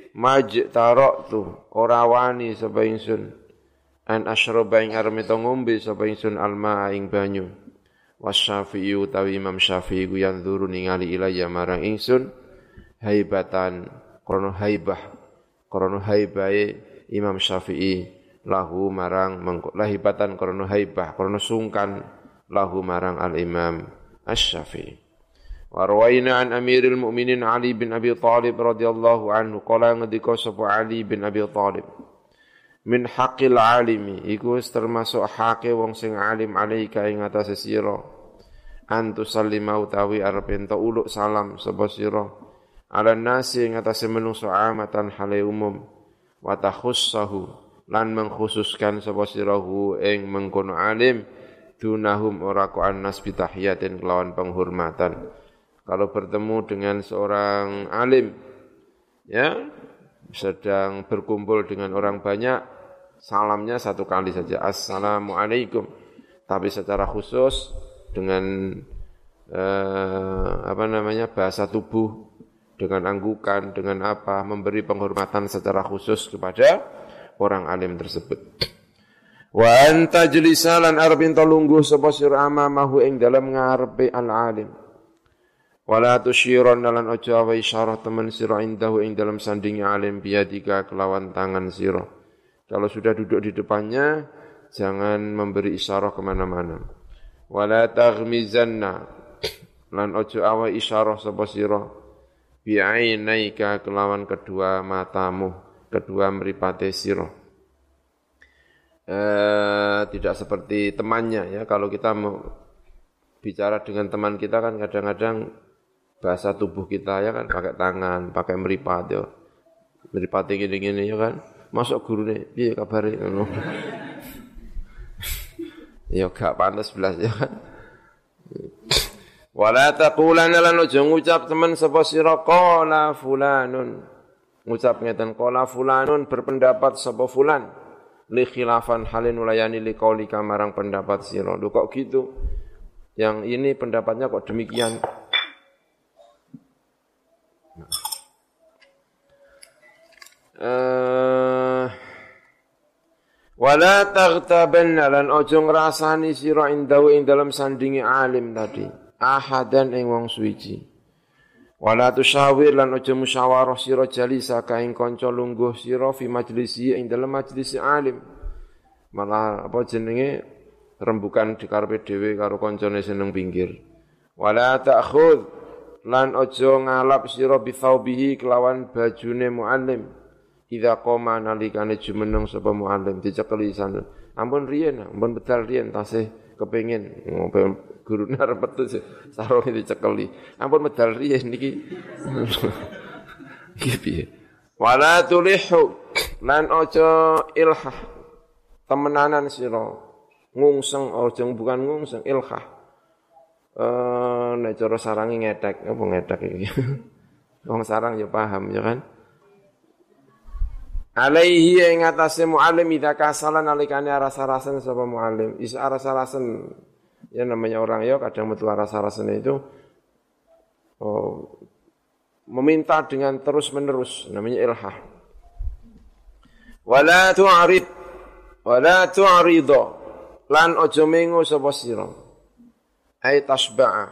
Speaker 1: majtaratu ora wani sapa ingsun an asyraba ing arep ngombe sapa ingsun alma ing banyu. Wasy-Syafi'i utawi Imam Syafi'i ku yanzuru ningali ilayya marang ingsun haibatan krana haibah krana haibahe Imam Syafi'i lahu marang lahibatan krana haibah krana sungkan lahu marang al-Imam Asy-Syafi'i. Wa rawaina an Amiril Mukminin Ali bin Abi Thalib radhiyallahu anhu qala ngendika sapa Ali bin Abi Thalib min haqqil alimi iku termasuk hake wong sing alim alaika ing atase sira antu sallima utawi arep ento uluk salam sapa sira ala nasi ing atase menungso amatan hale umum wa takhussahu lan mengkhususkan sapa sirahu ing mengkono alim dunahum ora ku annas bitahiyatin kelawan penghormatan kalau bertemu dengan seorang alim, ya, sedang berkumpul dengan orang banyak, salamnya satu kali saja, assalamualaikum. Tapi secara khusus dengan eh, apa namanya bahasa tubuh, dengan anggukan, dengan apa, memberi penghormatan secara khusus kepada orang alim tersebut. Wa anta jlisalan arbin talungguh sapa sira amamahu ing dalem ngarepe al-alim. Wala tusyiron lan aja wa isyarah temen sira indahu ing dalem sandingi alim biadika kelawan tangan sira. Kalau sudah duduk di depannya, jangan memberi isyarah kemana-mana. Wala taghmizanna lan aja awa isyarah sapa sira bi'ainaika kelawan kedua matamu, kedua mripate sira. Eh, tidak seperti temannya ya. Kalau kita mau bicara dengan teman kita kan kadang-kadang bahasa tubuh kita ya kan pakai tangan, pakai meripat ya. Meripat gini-gini ya kan. Masuk guru nih, piye kabare ngono. Ya gak pantas belas ya kan. Wala taqulanna lan aja ngucap teman sapa sira qala fulanun. Ngucap ngeten qala fulanun berpendapat sapa fulan. Li khilafan halin ulayani li qaulika marang pendapat sira. Lho kok gitu? Yang ini pendapatnya kok demikian? Uh, wala taghtabanna lan aja ngrasani sira indahu ing dalam sandingi alim tadi. Ahadan ing wong suwiji. Wala tusyawir lan aja musyawarah sira jalisa ka ing kanca lungguh sira fi majlisi ing dalem majlis alim. Malah apa jenenge rembukan di karepe dhewe karo kancane seneng pinggir. Wala ta'khudh lan aja ngalap sira bi thawbihi kelawan bajune muallim. Idza qoma nalikane jumeneng sapa muallim dicekeli sana. Ampun riyen, ampun bedal riyen tasih kepengin ngopo gurune arep metu sarung dicekeli. Ampun medal riyen niki. Iki piye? Wala tulihu lan aja ilhah temenanan sira. Ngungseng aja bukan ngungseng ilhah. Eh nek cara sarange ngethek apa ngethek iki. Wong sarang ya paham ya kan. Alaihi ing atase muallim idza kasalan nalikane rasa-rasen sapa muallim. Is rasa-rasen ya namanya orang ya kadang metu rasa-rasen itu oh, meminta dengan terus-menerus namanya ilhah. Wala tu'rid wala tu'ridha lan aja mengo sapa sira. Ai tasba'a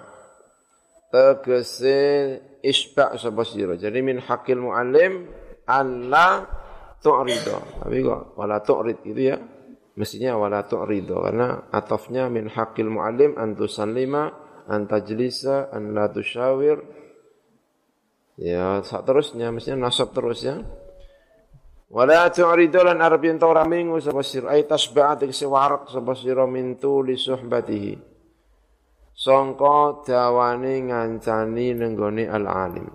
Speaker 1: tegese isba' sapa sira. Jadi min hakil muallim alla tu'ridha. Tapi kok wala tu'rid itu ya. Mestinya wala tu'ridha karena atafnya min haqqil muallim an tusallima an tajlisa an la tusyawir. Ya, seterusnya mestinya nasab terus ya. Wala tu'ridha lan arabin ora mingu sapa sira ay tasba'at siwarak sapa sira min tuli suhbatihi. Sangka dawane ngancani nenggone al-alim.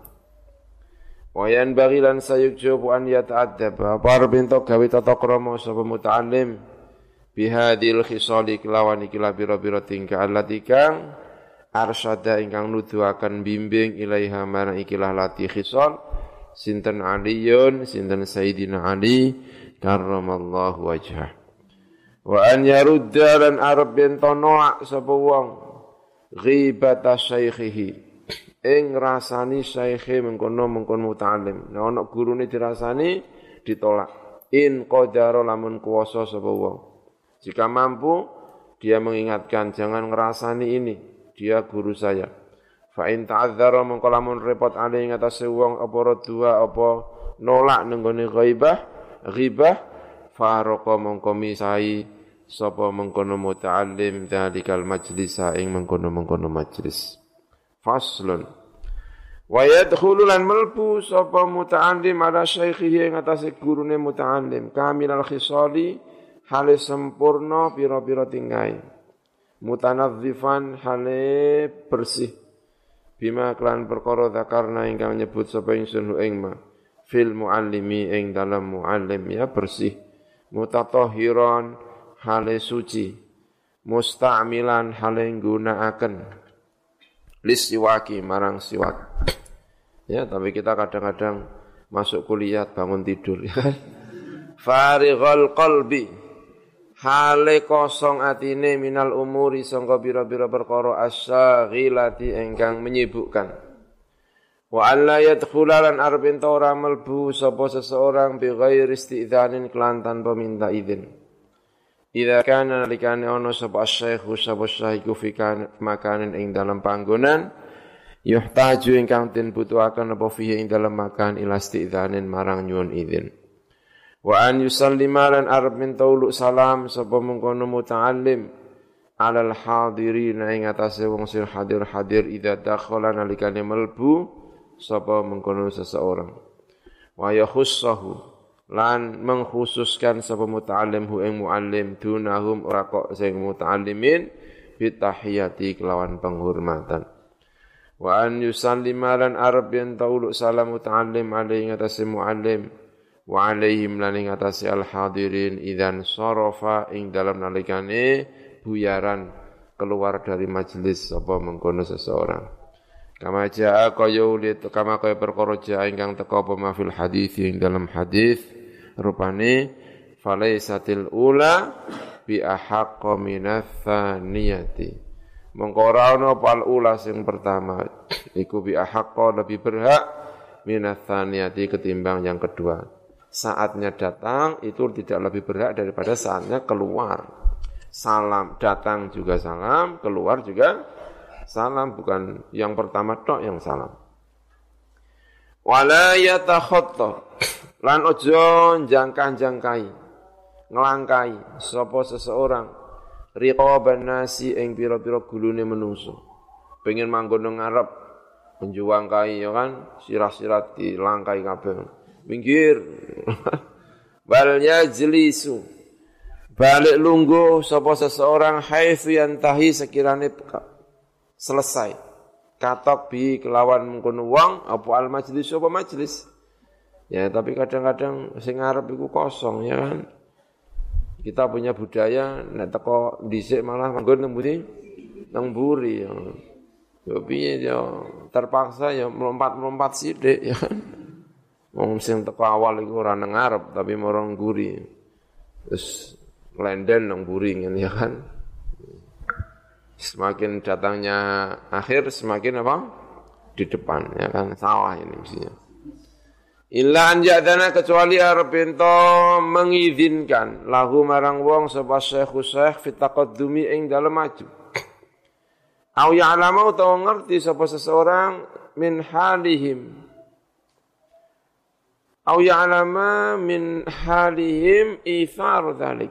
Speaker 1: Wayan bagilan sayujubu an yata'addab. Apa bintu gawe tata krama sapa muta'allim bihadil khisali kelawan iki labira-bira tingkah allati kang arsyada ingkang nuduhaken bimbing ilaiha marang ikilah lati khisal sinten aliyun sinten sayyidina ali karramallahu wajhah. Wa an yarudda lan arab bintu noak sapa wong ghibata syaikhihi ing rasani syaikhe mengkono-mengkono muta'alim. Nah ana gurune dirasani ditolak. In qadara lamun kuwasa sapa wong. Jika mampu dia mengingatkan jangan ngrasani ini, dia guru saya. Fa in ta'adzara mengko lamun repot ali ing atase wong apa dua apa nolak nenggone ghaibah, ghibah farqa mengko misai sapa mengkono muta'alim dzalikal majlisa ing mengkono-mengkono majlis. Faslun wa yadkhulu lan malbu sapa muta'allim ala syaikhihi ing atase gurune muta'allim kamilal khisali hale sempurna pira-pira tingkai mutanadzifan hale bersih bima klan perkara zakarna ingkang nyebut sapa ingsun ing ma fil muallimi ing dalam muallim ya bersih mutatahhiran hale suci musta'milan hale nggunakaken lisiwaki marang siwak. Ya, tapi kita kadang-kadang masuk kuliah bangun tidur ya kan. Farighal qalbi hale kosong atine minal umuri sangka pira-pira perkara asyaghilati ingkang menyibukkan. Wa alla yadkhula lan arep ento ora mlebu sapa seseorang bi ghairi istidzanin kelan tanpa minta izin. Idza kana likane ono sapa syekhu sapa syekhu fi makanin ing dalam panggonan yuhtaju ingkang den butuhaken apa fihi ing dalam makan ila istidzanin marang nyuwun izin. Wa an yusallima lan arab min tauluk salam sapa mengkono muta'allim alal hadirin ing atase wong sing hadir-hadir idza dakhala nalikane mlebu sapa mengkono seseorang. Wa yakhussahu lan mengkhususkan sapa muta'allim hu ing muallim dunahum ora kok sing muta'allimin bi tahiyati kelawan penghormatan. Wa an yusallima lan arab yen tauluk salam muta'allim alaihi atase muallim wa alaihim lan ing atase al hadirin idzan sarafa ing dalam nalikane buyaran keluar dari majelis sapa mengkono seseorang. Kama jaa kaya ulit kama kaya perkara jaa ingkang teka apa mafil hadis ing dalam hadis rupane falaisatil ula bi ahaqqa minats tsaniyati. Mongko ora ana apa ula sing pertama iku bi ahaqqa lebih berhak minats tsaniyati ketimbang yang kedua. Saatnya datang itu tidak lebih berhak daripada saatnya keluar. Salam datang juga salam, keluar juga salam, bukan yang pertama tok yang salam. Wala yatakhatta lan ojo jangkah-jangkai nglangkai sapa seseorang riqaban nasi ing pira-pira gulune menungso. Pengen manggon nang ngarep menjuangkai ya kan, sirah-sirah dilangkai kabeh. Minggir. Wal yajlisu balik lungguh sapa seseorang haitsu yantahi sekirane selesai katok bi kelawan mengkono wong apa al majlis apa majlis ya, tapi kadang-kadang sing ngarep iku kosong ya kan. Kita punya budaya nek teko dhisik malah manggon nang mburi nang mburi ya. Yo piye yo terpaksa ya melompat-melompat sithik ya kan. Wong sing teko awal iku ora nang ngarep tapi marang mburi. Terus lenden nang mburi ngene ya kan. Semakin datangnya akhir semakin apa? Di depan ya kan, salah ini mestinya. Illa an ja'dana kecuali arep ento mengizinkan lahu marang wong sapa syekh syekh fi taqaddumi ing dalem maju. Au ya'lamu utawa ngerti sapa seseorang min halihim. Au ya'lama min halihim ithar dzalik.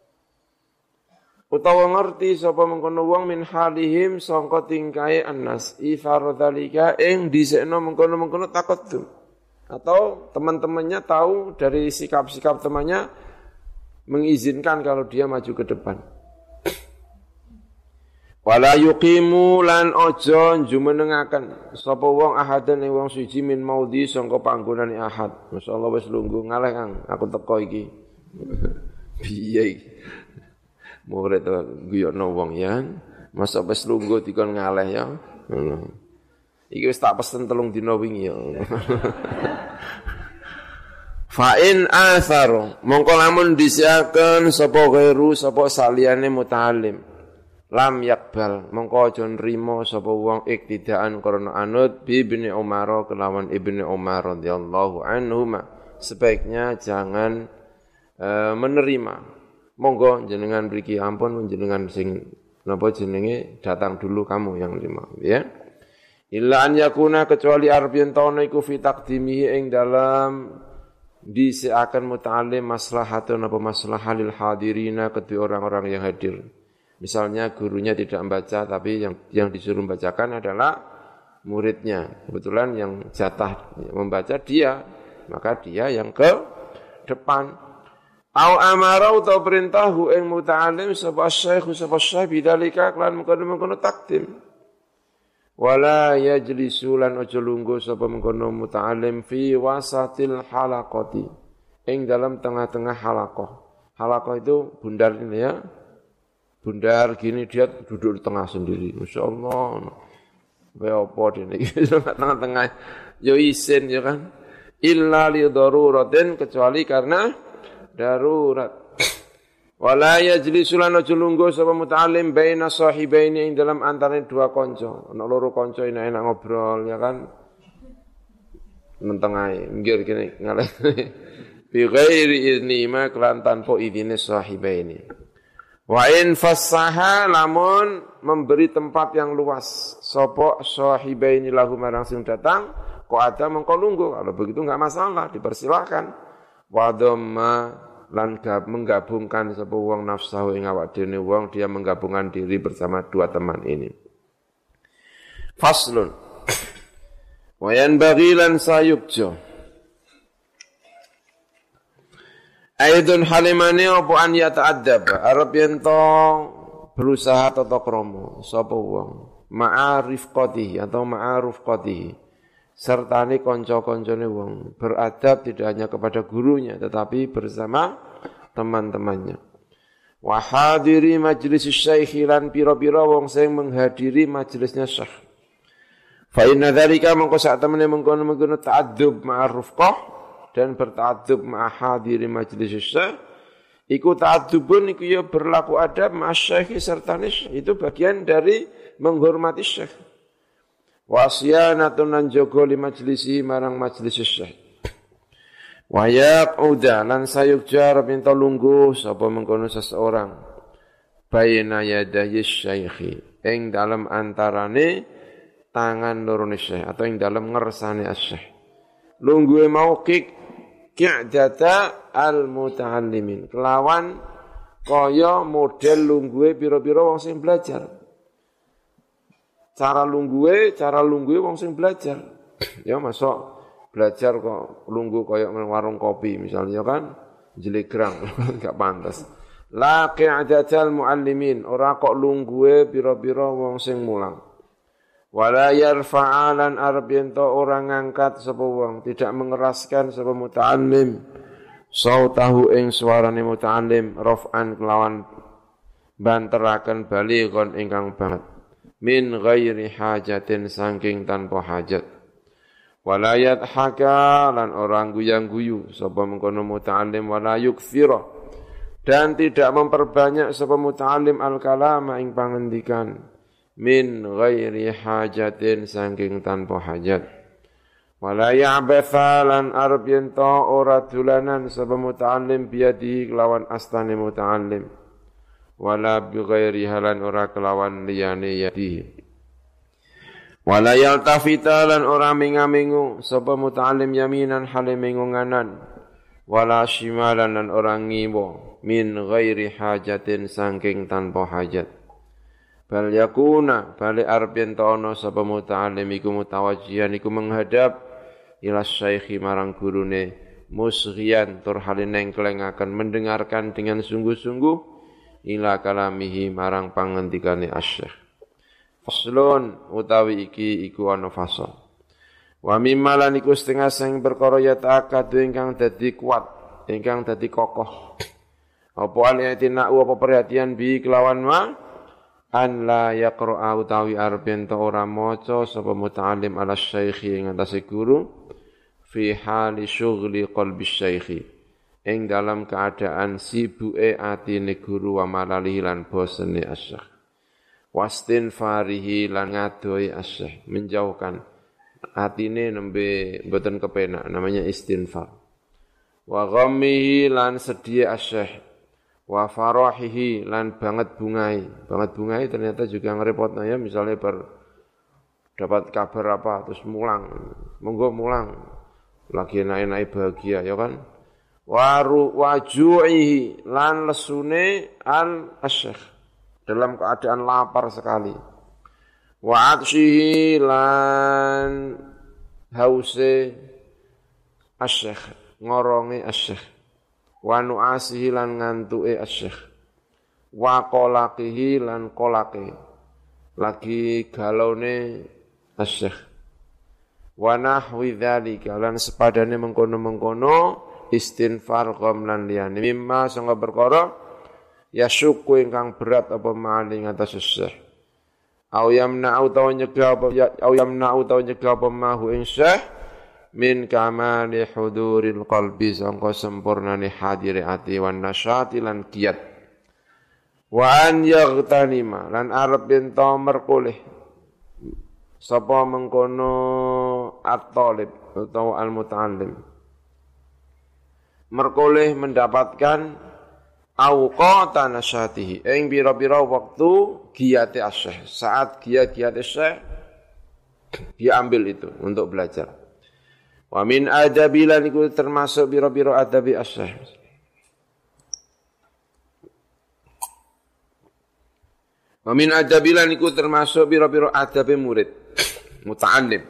Speaker 1: Utawa ngerti sapa mengkono wong min halihim sangka tingkahe annas ithar dzalika ing dhisikno mengkono-mengkono taqaddum. Atau teman-temannya tahu dari sikap-sikap temannya mengizinkan kalau dia maju ke depan. Wala yuqimu lan ojo jumenengaken sapa wong ahadan ing wong suci min maudhi sangka panggonane ahad. Masyaallah wis lungguh ngaleh Kang, aku teko iki. Piye iki? Murid guyokno wong ya. Masa wis lungguh dikon ngaleh ya. Ngono. Iki wis tak pesen telung dina wingi ya. Fa in atharu mongko lamun disiaken sapa ghairu sapa saliyane muta'allim lam yakbal mongko aja nrimo sapa wong iktidaan karena anut bi Ibnu Umar kelawan Ibnu Umar radhiyallahu anhuma sebaiknya jangan uh, menerima. Monggo jenengan mriki ampun jenengan sing napa jenenge datang dulu kamu yang terima ya. Illa an yakuna kecuali arep yen tono iku fi taqdimihi ing dalam disiakan muta'allim maslahatun apa maslahah lil hadirina kedua orang-orang yang hadir. Misalnya gurunya tidak membaca tapi yang yang disuruh membacakan adalah muridnya. Kebetulan yang jatah membaca dia, maka dia yang ke depan. Au amara utawa perintahu ing muta'allim sapa syekh sapa syekh bidzalika lan mengkono-mengkono takdim. Wala yajlisu lan aja lungguh sapa mengkono muta'allim fi wasatil halaqati ing dalam tengah-tengah halaqah. Halaqah itu bundar ini ya. Bundar gini dia duduk di tengah sendiri. Masyaallah. Wae apa dene iki tengah-tengah yo isin ya kan. Illa li daruratin kecuali karena darurat. Wala yajlisu lan aja lungguh sapa muta'allim baina sahibaini ing dalam antarané dua kanca. Ana loro kanca enak-enak ngobrol ya kan. Menteng ae, minggir kene ngalih. Bi ghairi idni ma kelan tanpa idine sahibaini. Wa in fassaha lamun memberi tempat yang luas sapa sahibaini lahu marang sing datang kok ada mengko lungguh. Kalau begitu enggak masalah, dipersilakan. Wa dhamma lan menggabungkan sapa wong nafsahu ing awak dene wong dia menggabungkan diri bersama dua teman ini. Faslun wa yanbaghi lan sayubjo aidun halimane apa an yata'addab arep yen to berusaha tata krama sapa wong ma'arif qatihi atau ma'aruf qatihi sertane kanca-kancane wong beradab tidak hanya kepada gurunya tetapi bersama teman-temannya. Wa hadiri majlis syekh lan pira-pira wong sing menghadiri majelisnya syekh. Fa inna dzalika mangko sak temene mengkono-mengkono ta'addub ma'arufqah dan berta'addub ma'a hadiri majlis syekh iku ta'addubun iku ya berlaku adab ma'a syekh sertane itu bagian dari menghormati syekh. Wasyanatun lan jaga li majlisi marang majlis syekh. Wa yaquda lan sayukja minta lungguh sapa mengkono seseorang baina yadayi syekhi ing dalam antarane tangan lorone syekh atau ing dalam ngersane syekh. Lungguhe mau kik ki'data al muta'allimin kelawan kaya model lungguhe pira-pira wong sing belajar. Cara lungguhe, cara lungguhe wong sing belajar. Ya masuk belajar kok lungguh kaya warung kopi misalnya kan jelegrang enggak pantas. La qi'adatal muallimin ora kok lungguhe pira-pira wong sing mulang. Wala yarfa'alan arab ento ora ngangkat sapa wong, tidak mengeraskan sapa muta'allim sautahu ing suarane muta'allim raf'an kelawan banteraken balighan ingkang banget. Min ghairi hajatin saking tanpa hajat. Walayat haka lan orang guyang-guyu sapa mengkono muta'allim wala yukthira dan tidak memperbanyak sapa muta'allim al-kalama ing pangendikan min ghairi hajatin saking tanpa hajat. Wala ya'batha lan arab yento ora dulanan sapa muta'allim biadi kelawan astane muta'allim. Wala bi ghairi halan ora kelawan liyane yadi. Wala yaltafita lan ora mingamingu sapa muta'allim yaminan hale mengunganan. Wala shimalan lan ora ngiwa min ghairi hajatin saking tanpa hajat. Bal yakuna bali arep yen ana sapa muta'allim iku mutawajjihan iku menghadap ila syaikhi marang gurune musghiyan tur hale nengklengaken mendengarkan dengan sungguh-sungguh ila kalamihi marang pangendikane asy-syekh. Faslun utawi iki iku ana fasal. Wa mimma lan iku setengah sing perkara ya ta'akadu ingkang dadi kuat, ingkang dadi kokoh. Apa aliyatina apa perhatian bi kelawan ma an la yaqra'a utawi arep ento ora maca sapa muta'allim ala syaikhi ing atase guru fi hali syughli qalbi syaikhi. Ing dalam keadaan sibuke atine guru wa malalihi lan bosene asyikh. Wastin farihi lan ngadoi asyikh, menjauhkan atine nembe mboten kepenak namanya istinfar. Wa ghammihi lan sedih asyikh. Wa farahihi lan banget bungai. Banget bungai ternyata juga ngerepotno ya misalnya ber dapat kabar apa terus mulang. Monggo mulang. Lagi enak-enak bahagia ya kan? Waru waju'ihi lan lesune al asyikh dalam keadaan lapar sekali. Wa atshihi lan hause asyikh ngoronge asyikh. Wa nu'asihi lan ngantuke asyikh. Wa qalaqihi lan qalaqe lagi galone asyikh. Wa nahwi dzalika lan sepadane mengkono-mengkono istinfar qom lan liyane mimma sanga perkara ya syuku ingkang berat apa maling atas syekh Au yamna'u taw nyegah apa au yamna'u taw nyegah apa mahu ing syekh min kamali huduril qalbi sangka sempurnane hadire ati wan nasyati lan kiat. Wa an yaghtanima lan arep ento merkoleh sapa mengkono at-talib atau al-muta'allim merkoleh mendapatkan awqata nasyatihi ing pira-pira waktu giyate asyikh saat giat-giate syekh dia ambil itu untuk belajar. Wa min adabi lan iku termasuk pira-pira adabi asyikh. Wa min adabi lan iku termasuk pira-pira adabe murid muta'allim.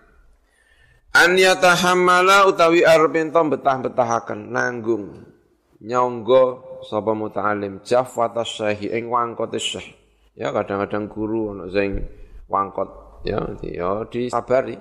Speaker 1: An yatahammala utawi arep ento betah-betahaken nanggung nyangga sapa muta'allim jafwata syekh ing wangkote syekh. Ya kadang-kadang guru ana sing wangkot ya ya disabari.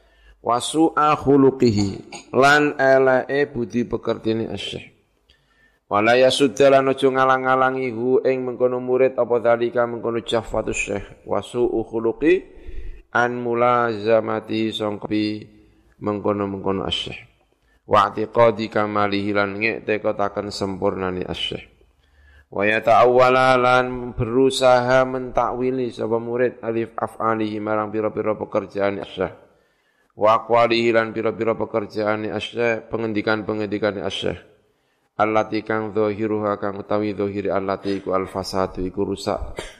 Speaker 1: Wasu'a khuluqihi lan eleke budi pekertine syekh. Wala yasuddalan aja ngalang-alangi hu ing mengkono murid apa dalika mengkono jafwatu syekh. Wasu'u khuluqi an mulazamati sangkapi mengkono-mengkono asyikh. Wa i'tiqadi kamalihi lan ngekteketaken sempurnane asyikh. Wa yata'awwala lan berusaha mentakwili sapa murid alif af'alihi marang pira-pira pekerjaan asyikh. Wa aqwalihi lan pira-pira pekerjaan asyikh, pengendikan-pengendikan asyikh. Allati kang zahiruha kang utawi zahiri allati iku al-fasadu iku rusak.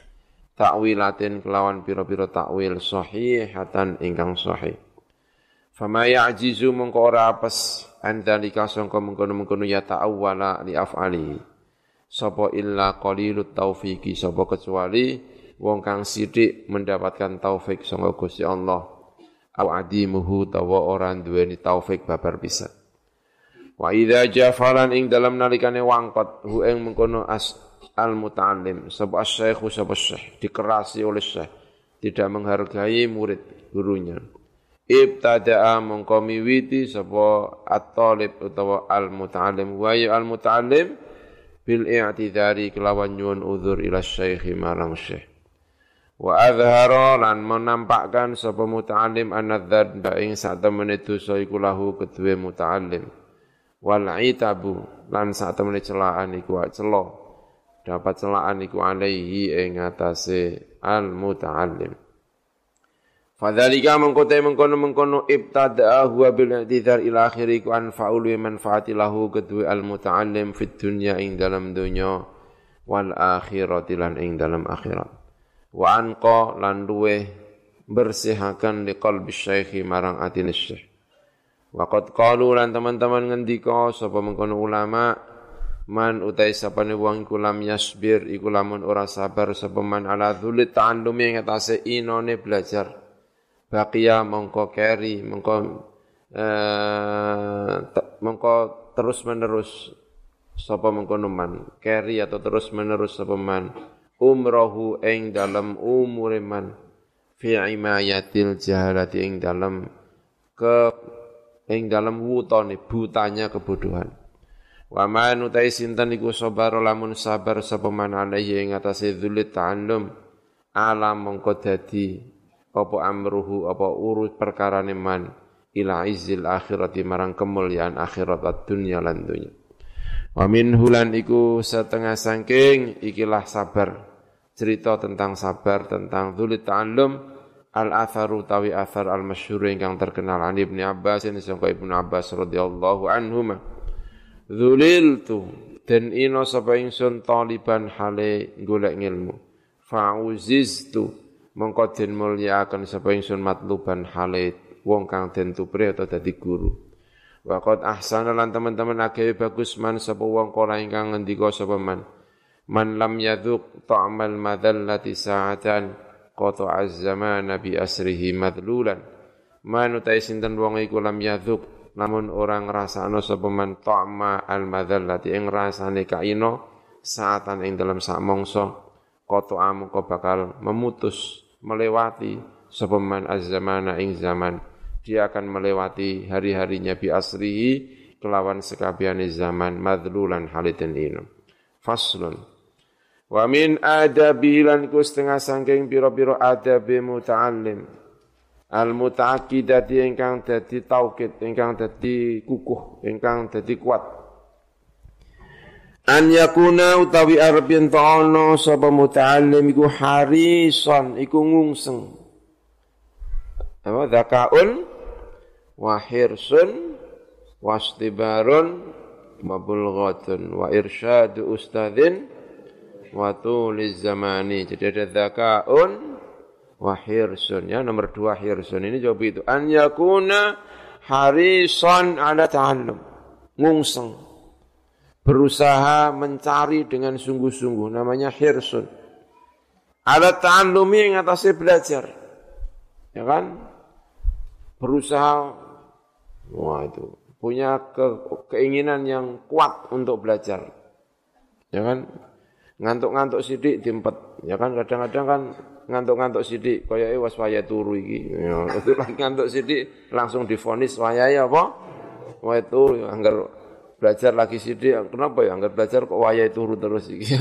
Speaker 1: Ta'wilatin kelawan pira-pira takwil sahihatan ingkang sahih. Fama ya'jizu mongko ora apes andalika sangka mengkono-mengkono ya ta'awwala li af'ali. Sapa illa qalilut taufiqi sapa kecuali wong kang sithik mendapatkan taufik sangka Gusti Allah. Au adimuhu tawa ora duweni taufik babar pisan. Wa idza jafalan ing dalam nalikane wangkot hu ing mengkono as al muta'allim sapa asy-syaikh sapa syekh dikerasi oleh syekh tidak menghargai murid gurunya. Ibtada'a mongko miwiti sapa at-talib utawa al-muta'allim wa ya al-muta'allim bil i'tidari kelawan nyuwun uzur ila syekh marang syekh. Wa azhara lan menampakkan sapa muta'allim anadzan ing sak temene dosa iku lahu kedue muta'allim. Wal itabu lan sak temene celaan iku cela. Dapat celaan iku alaihi ing atase al-muta'allim. Fadzalika mengkote mengkono-mengkono ibtada'a huwa bil i'tidar ila akhiri ku anfa'ul wa manfaati lahu kedue al-muta'allim fid dunya ing dalam dunya wal akhirati lan ing dalam akhirat. Wa anqa lan luweh bersihaken li qalbi syekh marang atine syekh. Wa qad qalu lan teman-teman ngendika sapa mengkono ulama man utai sapane wong iku lam yasbir iku lamun ora sabar sapa man ala dzulit ta'allumi ing atase inone belajar. Baqiya mongko keri mongko eh, mongko terus menerus sapa mengkono man keri atau terus menerus sapa man umrohu ing dalam umure man fi imayatil jahalati ing dalam ke ing dalam wutone butanya kebodohan. Wa man utai sinten iku sabar lamun sabar sapa man alaihi ing atase dzulit ta'allum alam mongko dadi apa amruhu apa urus perkarane man ila izzil akhirati marang kemuliaan akhirat dunya lan dunya. Wa min hulan iku setengah saking ikilah sabar. Cerita tentang sabar tentang dzulit ta'allum al-atharu tawi athar al-masyhur ingkang terkenal an Ibnu Abbas ini sangka Ibnu Abbas radhiyallahu anhuma. Dzuliltu den ino sapa ingsun taliban hale golek ilmu. Fa'uziztu mongko den mulyakaken sapa ingsun matluban hale wong kang den tupri atau dadi guru. Wa qad ahsana lan teman-teman agawe bagus man sapa wong kala ingkang ngendika sapa man. Man lam yadhuq ta'mal madallati sa'atan qata'a az-zamana bi asrihi madlulan. Man utai sinten wong iku lam yadhuq namun orang ngrasakno sapa man ta'ma al-madallati ing rasane kaino saatan ing dalam sak mangsa qata'a mongko bakal memutus melewati sapa man az-zamana ing zaman dia akan melewati hari-harinya bi asrihi kelawan sekabehane zaman madlulan haliten ino. Faslun Wa min adabi lan iku setengah saking pira-pira adabe muta'allim. Al muta'aqqidati ingkang dadi taukid, ingkang dadi kukuh, ingkang dadi kuat. An yakuna utawi arep yen ana sapa muta'allim iku harisan, iku ngungseng. Apa zakaun wa hirsun wastibarun mabulghatun wa irsyadu ustadzin wa tuliz zamani. Jadi ada zakaun wa hirsun, ya nomor dua hirsun ini jawab itu. An yakuna harisan ala ta'allum, ngungseng, berusaha mencari dengan sungguh-sungguh, namanya hirsun. Ala ta'allumi yang atasnya belajar, ya kan? Berusaha, wah itu punya ke, keinginan yang kuat untuk belajar, ya kan? Ngantuk-ngantuk sidik diempet, ya kan? Kadang-kadang kan ngantuk-ngantuk sidik, kaya was waya turu iki. Ya, itu lagi ngantuk sidik langsung divonis wayahe apa? Waya turu, anggar belajar lagi sidik. Kenapa ya? Anggar belajar kok wayahe turu terus iki.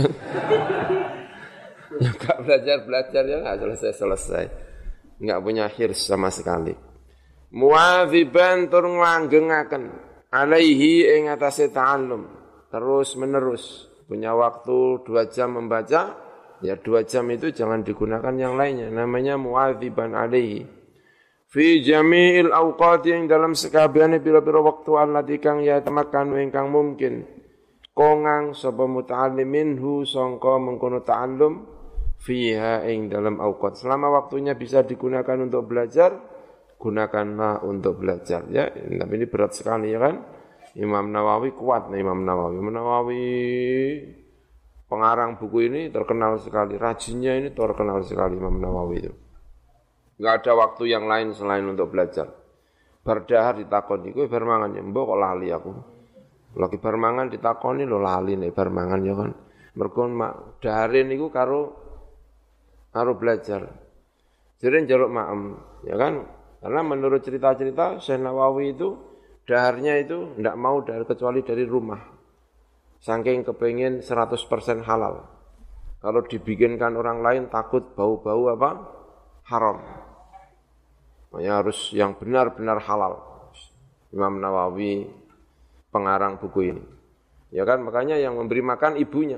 Speaker 1: Ya enggak belajar-belajar ya enggak selesai-selesai. Enggak punya hirs sama sekali. Muwadziban tur nglanggengake alaihi ing atase ta'allum, terus menerus. Punya waktu dua jam membaca, ya dua jam itu jangan digunakan yang lainnya. Namanya muwadziban alaihi. Fi jami'il awqati yang dalam sekabehane pira-pira waktu allati kang ya tamakan ingkang mungkin. Kongang sapa muta'allimin hu sangka mengkono ta'allum fiha ing dalam awqat. Selama waktunya bisa digunakan untuk belajar, gunakanlah untuk belajar ya. Tapi ini berat sekali ya kan? Imam Nawawi kuat nih Imam Nawawi. Imam Nawawi pengarang buku ini terkenal sekali. Rajinnya ini terkenal sekali Imam Nawawi itu. Enggak ada waktu yang lain selain untuk belajar. Bardahar ditakoni, kowe bar mangan ya, mbok kok lali aku. Lagi bar mangan ditakoni lho lali nek bar mangan ya kan. Mergo mak dahare niku karo karo belajar. Jere njaluk maem, ya kan? Karena menurut cerita-cerita Syekh Nawawi itu daharnya itu tidak mau dari kecuali dari rumah. Saking kepengen seratus persen halal. Kalau dibikinkan orang lain takut bau-bau apa? Haram. Makanya harus yang benar-benar halal. Imam Nawawi pengarang buku ini. Ya kan, makanya yang memberi makan ibunya.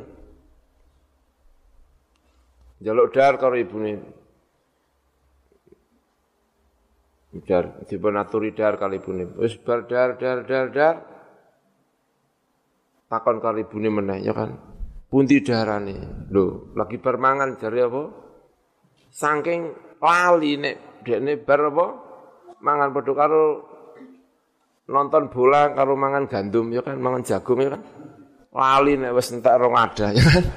Speaker 1: Jaluk dahar karo ibune. Dar, dipun aturi dahar kali ibune. Wis bar dahar dahar dahar dahar. Takon kali ibune meneh ya kan. Pundi daharane? Lho, lagi bar mangan jare apa? Saking lali nek dekne bar apa? Mangan padha karo nonton bola karo mangan gandum ya kan, mangan jagung ya kan. Lali nek wis entek rong ada ya kan.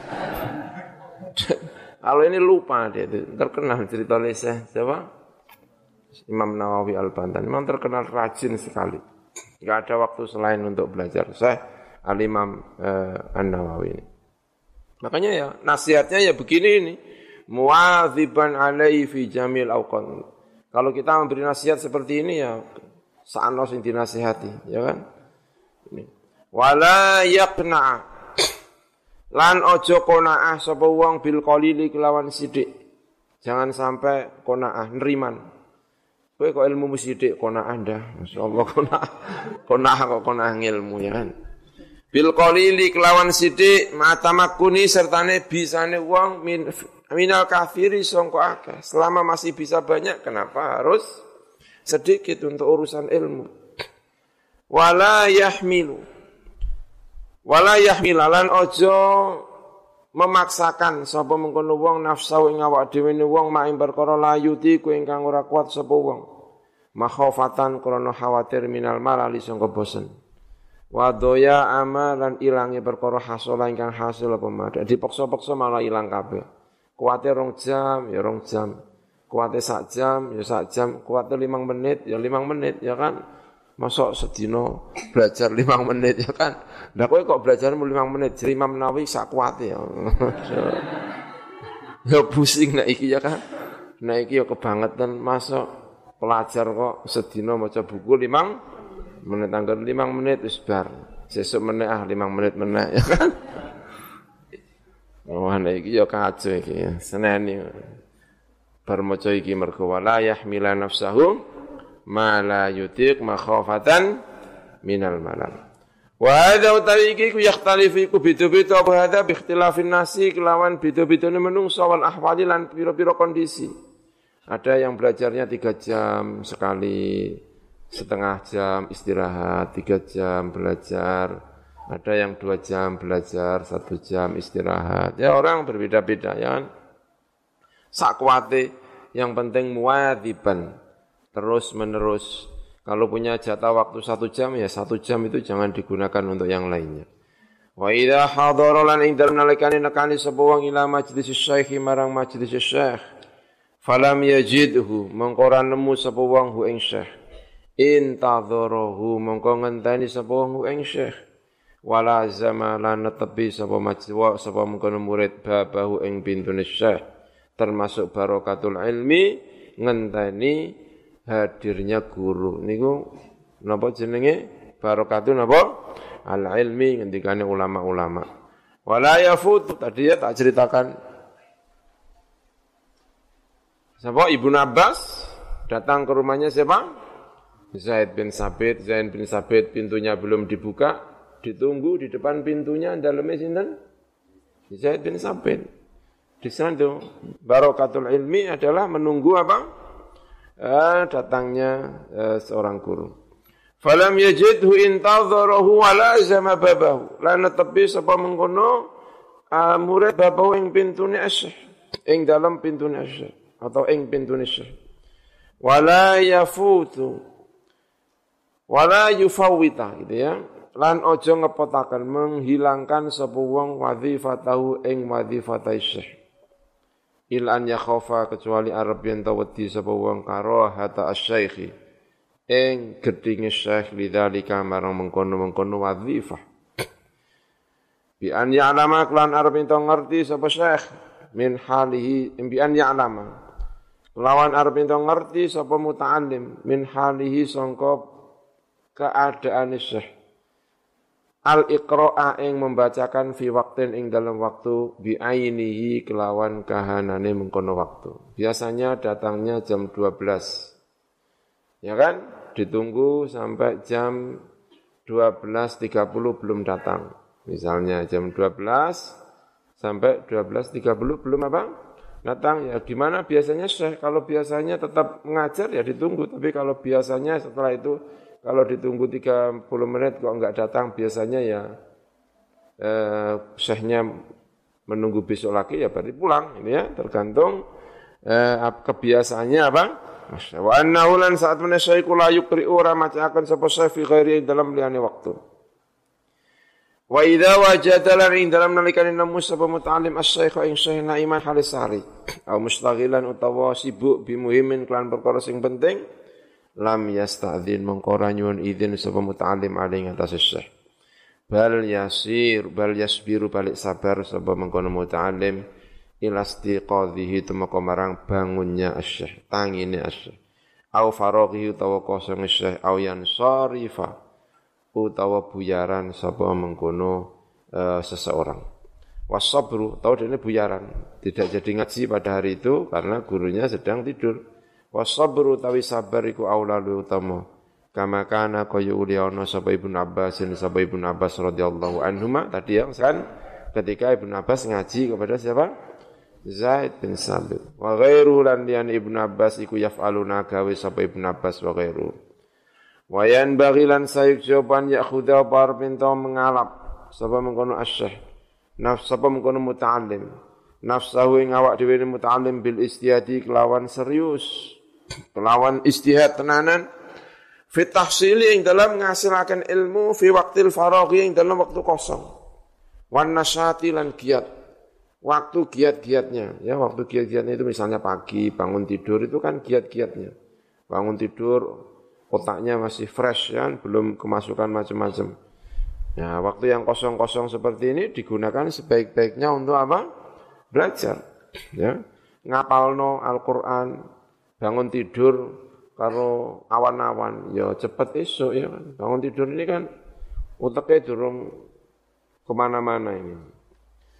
Speaker 1: Kalau ini lupa dia itu. Terkenal cerita Syekh siapa? Imam Nawawi Al-Bantan memang terkenal rajin sekali. Enggak ada waktu selain untuk belajar. Syekh Al-Imam eh, An-Nawawi ini. Makanya ya nasihatnya ya begini ini. Muwadziban alaihi fi jamil awqat. Kalau kita memberi nasihat seperti ini ya saano sing dinasihati, ya kan? Ini. Wala yaqna. Lan ojo qanaah sapa wong bil qalili kelawan sithik. Jangan sampai qanaah neriman. Kowe kok ilmu sithik qanaah ndah. Masyaallah qanaah. Qanaah kok qanaah ilmu ya kan. Bil qalili kelawan sithik matamakuni sertane bisane wong min minal kafiri sangka akeh. Selama masih bisa banyak kenapa harus sedikit untuk urusan ilmu. Wala yahmilu. Wala yahmilalan ojo memaksakan sapa mengkono wong nafsu ing awak dhewe ne wong mak ing perkara layuti ku ingkang ora kuat sapa wong. Makhofatan krana khawatir minal malali sangka bosen. Wa doya amalan ilange perkara hasola ingkang hasil apa madak. Dipaksa-paksa malah ilang kabeh. Kuwate rong jam ya rong jam. Kuwate sak jam ya sak jam. Kuwate limang menit ya limang menit ya kan. Masuk sedino belajar limang menit ya kan. Lah kowe kok belajar limang menit, jadi Imam Nawawi sak kuwate ya. Ya pusing nek iki ya kan. Nek iki ya kebangetan masuk pelajar kok sedino maca buku limang menit anggar limang menit wis bar. Sesuk meneh ah limang menit meneh ya kan. Oh Ana iki ya kacau iki. Seneni bar maca iki mergo wala yahmila nafsahu ma la yutiq makhafatan minal malal. Wa hadza utawi iki ku yakhtalifu iku beda-beda apa hadza bi ikhtilafin nasi kelawan beda-bedane menungso wal ahwali lan pira-pira kondisi. Ada yang belajarnya tiga jam sekali, setengah jam istirahat, tiga jam belajar. Ada yang dua jam belajar, satu jam istirahat. Ya orang berbeda-beda ya kan. Sakwate yang penting muwadziban, terus menerus. Kalau punya jatah waktu satu jam, ya satu jam itu jangan digunakan untuk yang lainnya. Wa idha hadara lan ing dalem nalikane nekani sapa wong ila majlis syekh marang majlis syekh. Falam yajidhu mongko ora nemu sapa wong hu ing syekh. Intadharahu mongko ngenteni sapa wong hu ing syekh. Wala zamalan netepi sapa majwa sapa mengkono murid babahu ing pintune syekh. Termasuk barokatul ilmi ngenteni hadirnya guru niku napa jenenge barokatun napa al ilmi ngendikane ulama-ulama wala yafut tadi ya tak ceritakan siapa Ibnu Abbas datang ke rumahnya siapa Zaid bin Sabit Zaid bin Sabit pintunya belum dibuka ditunggu di depan pintunya dalamnya sinten Zaid bin Sabit. Di sana itu barokatul ilmi adalah menunggu apa? Eh, datangnya eh, seorang guru. Falam yajidhu intadharahu wa lazama babahu. Lan tepi sapa mengkono uh, murid babahu ing pintune asyh, ing dalam pintune asyh atau ing pintune asyh. Wala yafutu wala yufawwita gitu ya. Lan ojo ngepotaken menghilangkan sapa wong wadzifatahu ing wadzifatai syekh. Ilan yakhafa kecuali arep yen ta wedi sapa wong karo hata asy-syaikhi ing gedhinge syekh lidzalika marang mengkono-mengkono wadzifah bi an ya'lama lan arep ento ngerti sapa syekh min halihi bi an ya'lama lawan arep ento ngerti sapa muta'allim min halihi sangka keadaane syekh al-iqra'a ing membacakan fi waqtin ing dalam waktu bi ainihi kelawan kahanane mengkono waktu. Biasanya datangnya jam dua belas. Ya kan? Ditunggu sampai jam dua belas tiga puluh belum datang. Misalnya jam dua belas sampai dua belas tiga puluh belum apa? Datang. Ya gimana biasanya Syekh? Kalau biasanya tetap mengajar ya ditunggu, tapi kalau biasanya setelah itu kalau ditunggu tiga puluh menit kok enggak datang, biasanya ya eh, syekhnya menunggu besok lagi ya berarti pulang. Ini ya tergantung eh, kebiasaannya apa. Wa annahu lan saat menasyaiku la yuqri'u ora macakan sapa syekh fi ghairi dalam liyane waktu. Wa idza wajada lan ing dalam nalikane nemu sapa muta'allim asy-syekh ing syekh naiman halisari au mustaghilan utawa sibuk bimuhimin kelan perkara sing penting lam yasta'dzin mengkora nyuwun izin sapa muta'allim aling atas syekh bal yasir bal yasbiru balik sabar sapa mengkono muta'allim ila istiqadhihi tumeka marang bangunnya syekh tangine syekh au faraghi utawa kosong syekh au yansarifa utawa buyaran sapa mengkono uh, seseorang wasabru tau dene buyaran tidak jadi ngaji pada hari itu karena gurunya sedang tidur. Wasabru tawi sabar iku aula lu utama kama kana kaya uliyana sapa Ibnu Abbas dan sapa Ibnu Abbas radhiyallahu anhuma tadi yang kan ketika Ibnu Abbas ngaji kepada siapa Zaid bin Sabit wa ghairu lan lian Ibnu Abbas iku yaf'aluna gawe sapa Ibnu Abbas wa ghairu wa yan baghilan sayuk jawaban yakhudha bar pinta mengalap sapa mengkono asyh nafs sapa mengkono muta'allim nafsahu ing awak dhewe muta'allim bil istihadi kelawan serius kelawan istihad tenanan fi tahsili ing dalam ngasilaken ilmu fi waqtil faraghi ing dalam waktu kosong wan nasyati lan giat waktu giat-giatnya ya waktu giat-giatnya itu misalnya pagi bangun tidur itu kan giat-giatnya bangun tidur otaknya masih fresh ya belum kemasukan macam-macam ya waktu yang kosong-kosong seperti ini digunakan sebaik-baiknya untuk apa belajar ya ngapalno Al-Qur'an bangun tidur karo awan-awan ya cepet esok ya kan bangun tidur ini kan uteknya durung kemana-mana ini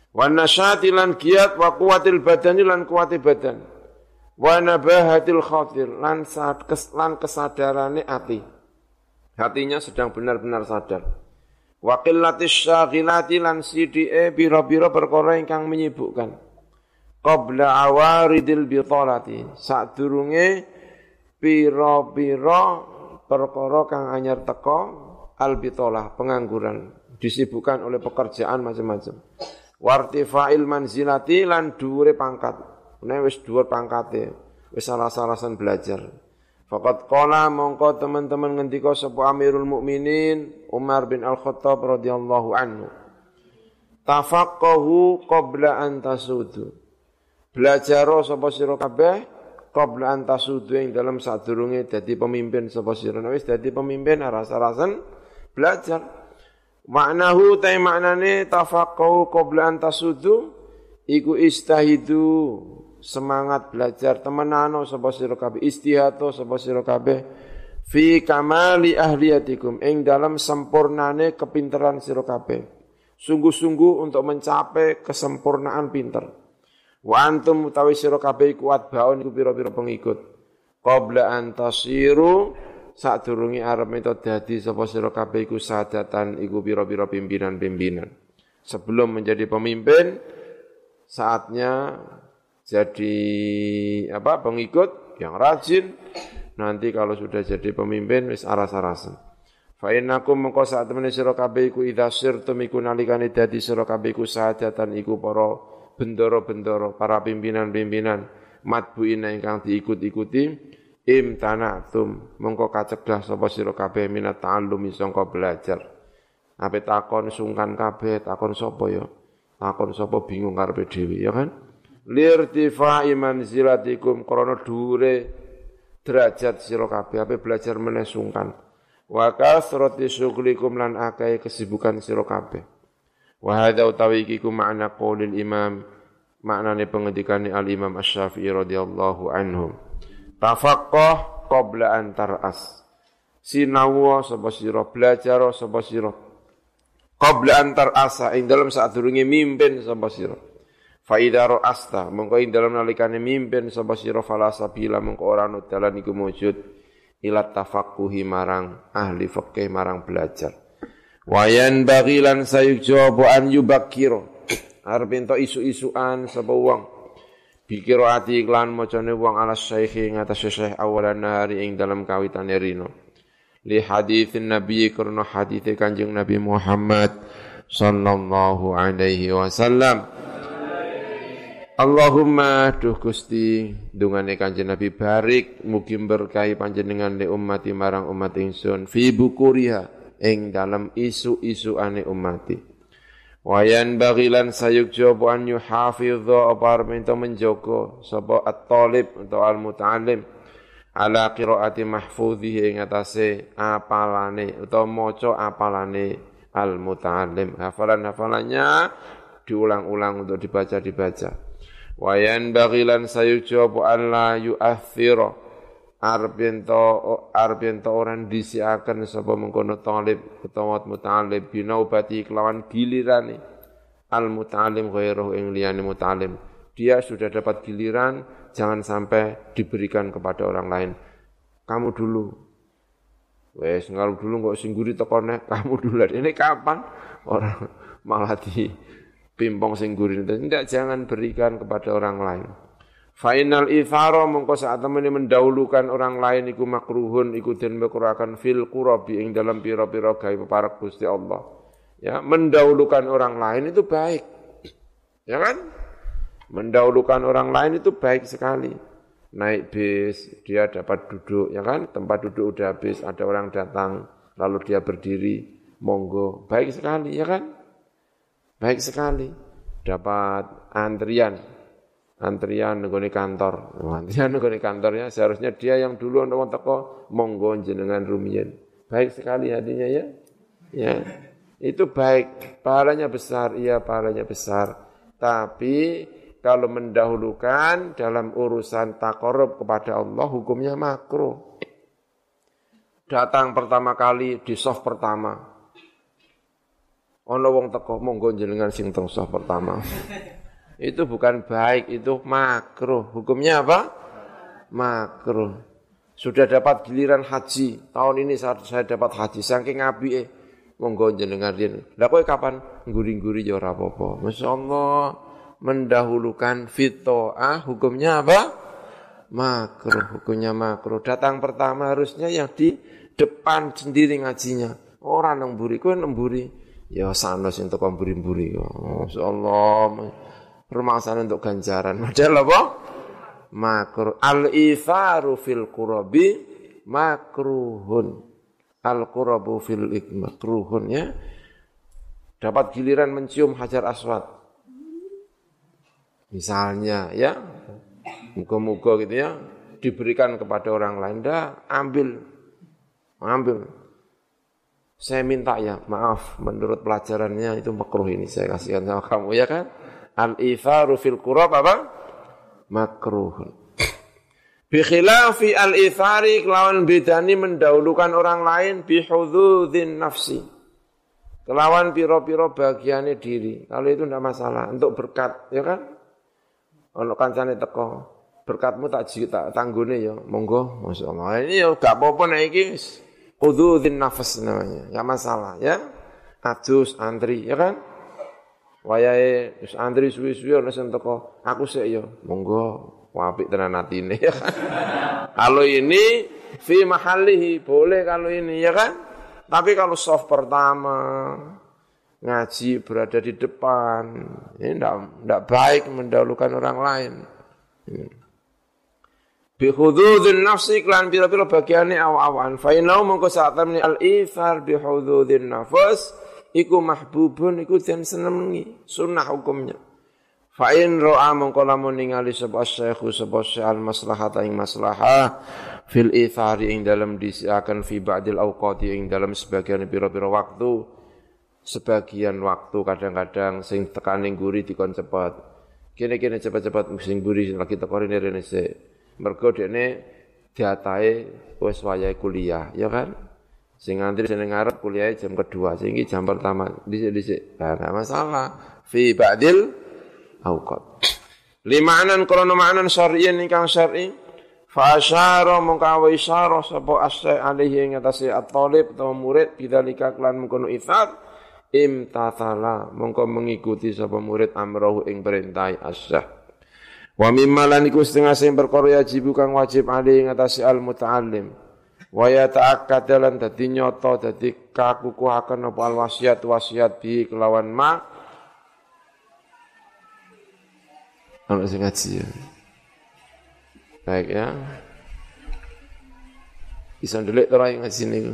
Speaker 1: Wa nasyati lan giat wa quwatil badani lan kuwate badan. Wa nabahatil khatir lan lan kesadarane ati. Hatinya sedang benar-benar sadar. Wa qillatis syaghilati lan sidike bira-bira perkara ingkang menyibukkan. Qabla awaridil bitalati sadurunge pira-pira perkara kang anyar teka albitalah pengangguran disibukkan oleh pekerjaan macam-macam. Wartifa'il manzilati lan dhuwure pangkat. Nek wis dhuwur pangkate, wis salah-salasan belajar. Faqad qala mongko teman-teman ngendika sapa Amirul Mukminin Umar bin Al-Khattab radhiyallahu anhu. Tafaqqahu qabla an tasudu. Belajar sapa sira kabeh qabla an tasudu ing dalam sadurunge dadi pemimpin sapa sira. Nek wis dadi pemimpin rasa-rasan belajar. Maknahu ta maknane tafaqqahu qabla an tasudu iku istahidu semangat belajar temenano sapa sira kabeh istihado sapa sira kabeh fi kamali ahliyatikum ing dalam sempurnane kepinteran sira kabeh sungguh-sungguh untuk mencapai kesempurnaan pinter wa antum utawi sira kabeh kuat baun iku pira-pira pengikut qabla an tasiru sadurunge arep ento dadi sapa sira kabeh iku sadatan iku pira-pira pimpinan-pimpinan sebelum menjadi pemimpin saatnya jadi apa pengikut yang rajin nanti kalau sudah jadi pemimpin wis aras-arasen fa innakum mengko sak temene sira kabeh iku idza sirtum iku nalikane dadi sira kabeh iku sadatan iku para bendoro-bendoro para pimpinan-pimpinan matbuina ingkang diikut-ikuti imtanatum mengko kacegah sapa sira kabeh minat ta'allumi sangka belajar ape takon sungkan kabeh takon sapa ya takon sapa bingung karepe dhewe ya kan lirtifa'i manzilatikum krana dhuwure derajat sira kabeh ape belajar meneh sungkan wa kasrati syughlikum lan akeh kesibukan sira kabeh wa hadza utawi iki ku makna qaulil imam maknane pengendikane al imam asy-Syafi'i radhiyallahu anhu tafaqqah qabla an tar'as sinawa sapa sira belajar sapa sira qabla an tar'asa ing dalem sadurunge mimpin sapa sira fa idza ra'asta mongko ing dalem nalikane mimpin sapa sira falasabila mongko ora ana dalan iku mujud ila tafaqquhi marang ahli fikih marang belajar wayan baghilan sayujabu an yubakkira arep ento isu-isuan sapa wong pikir ati iklan macane wong ala syekh ngatas syekh awalan hari ing dalam kawitane rino li haditsin nabi karena hadits kanjeng Nabi Muhammad sallallahu alaihi wasallam Allahumma duh Gusti dungane kanjeng Nabi barik mugi berkahi panjenengan li ummati marang umat ingsun fi bukuriha ing dalam isu-isuane ummati wayan bagilan sayuk jawabu an yuhafidha apa minta menjogo sapa at-talib atau al-muta'allim ala qiraati mahfudhihi ing atase apalane utawa maca apalane al-muta'allim hafalan-hafalannya diulang-ulang untuk dibaca-dibaca wayan bagilan sayuk jawabu an la yu'athira arbento arbento orang disiakan sapa mengkono talib utawa muta'allim binaubati kelawan gilirane al muta'allim ghairuhu ing liyane muta'allim dia sudah dapat giliran jangan sampai diberikan kepada orang lain kamu dulu wes ngalu dulu kok sing guri tekone kamu dulu ini kapan orang malah di pimpong sing guri tidak jangan berikan kepada orang lain Fainal ithara mongko saat temene mendahulukan orang lain iku makruhun iku den makruhaken fil qurabi ing dalam pira-pira gawe peparek Gusti Allah. Ya, mendahulukan orang lain itu baik. Ya kan? Mendahulukan orang lain itu baik sekali. Naik bis, dia dapat duduk, ya kan? Tempat duduk udah habis, ada orang datang, lalu dia berdiri, monggo. Baik sekali, ya kan? Baik sekali. Dapat antrian. Antrian nggone kantor. Antrian nggone kantornya seharusnya dia yang dulu untuk teko monggo jenengan rumiyin. Baik sekali hatinya ya. Ya. Itu baik, pahalanya besar, iya pahalanya besar. Tapi kalau mendahulukan dalam urusan taqarrub kepada Allah hukumnya makruh. Datang pertama kali di soft pertama. ana wong teko monggo jenengan sing teng saf pertama. Itu bukan baik, itu makruh. Hukumnya apa? Makruh. Sudah dapat giliran haji. Tahun ini saya, saya dapat haji saking apike. Monggo jenengan riyen. Lah kowe kapan ngguri-ngguri ya ora apa-apa. Masyaallah mendahulukan fitoah, hukumnya apa? Makruh, hukumnya makruh. Datang pertama harusnya yang di depan sendiri ngajinya. Orang nemburi, kowe nemburi. Ya sanes entuk mburi-mburi. Masyaallah. Permasalahan untuk ganjaran. Model apa? Makruh. Al-itharu fil qurabi makruhun. Al-qurabu fil makruhun ya. Dapat giliran mencium Hajar Aswad. Misalnya ya. Muga-muga gitu ya. Diberikan kepada orang lain. Dah ambil. Ambil. Saya minta ya, maaf. Menurut pelajarannya itu makruh ini. Saya kasihkan sama kamu ya kan. Al-itharu fil qurab apa? Makruhun. Bi khilafi al-ithari kelawan bedani mendahulukan orang lain bi hudzudzin nafsi. Kelawan piro-piro bagiannya diri. Kalau itu tidak masalah untuk berkat, ya kan? Ono kancane teko, berkatmu tak tak tanggune ya, monggo, masyaallah. Ini ya gak apa-apa nek iki hudzudzin nafs namanya. Enggak masalah, ya. Adus antri, ya kan? Wayahe wis antri suwi-suwi ana sing teko, aku sik ya, monggo. Apik tenan atine ya kan. Kalau ini fi mahallihi boleh kalau ini ya kan. Tapi kalau soft pertama ngaji berada di depan, ini ndak ndak baik mendahulukan orang lain. Bi hudzudzin nafsi klan pira-pira bagiane aw-awan. Fa inau mongko sak temne al-ithar bi hudzudzin nafs iku mahbubun iku den senengi, sunnah hukumnya. Fa in ra'a mongko lamun ningali sapa syekhu sapa al maslahata ing maslahah fil ithari ing dalam disiakan fi ba'dil awqati ing dalam sebagian pira-pira waktu sebagian waktu kadang-kadang sing tekane nguri dikon cepet kene-kene cepet-cepet sing nguri lagi teko rene rene sik mergo dekne diatahe wis wayahe kuliah ya kan sing ngantri sing ngarep kuliahe jam kedua sing iki jam pertama dhisik-dhisik nah enggak masalah fi ba'dil awqat limanan krana ma'nan syar'iyyan ingkang syar'i fa asyara mongko isyarah sapa asy alaihi ing atase at-thalib atau murid bidzalika klan mengkono itsar imtathala mongko mengikuti sapa murid amrahu ing perintah asy wa mimma lan iku setengah sing perkara wajib kang wajib alaihi ing atase al-muta'allim wa yata'akkad lan dadi nyata dadi kakukuhaken apa al-wasiat wasiat bi kelawan ma ana sing ngaji ya. Baik ya. Bisa ndelik ora ngaji niku.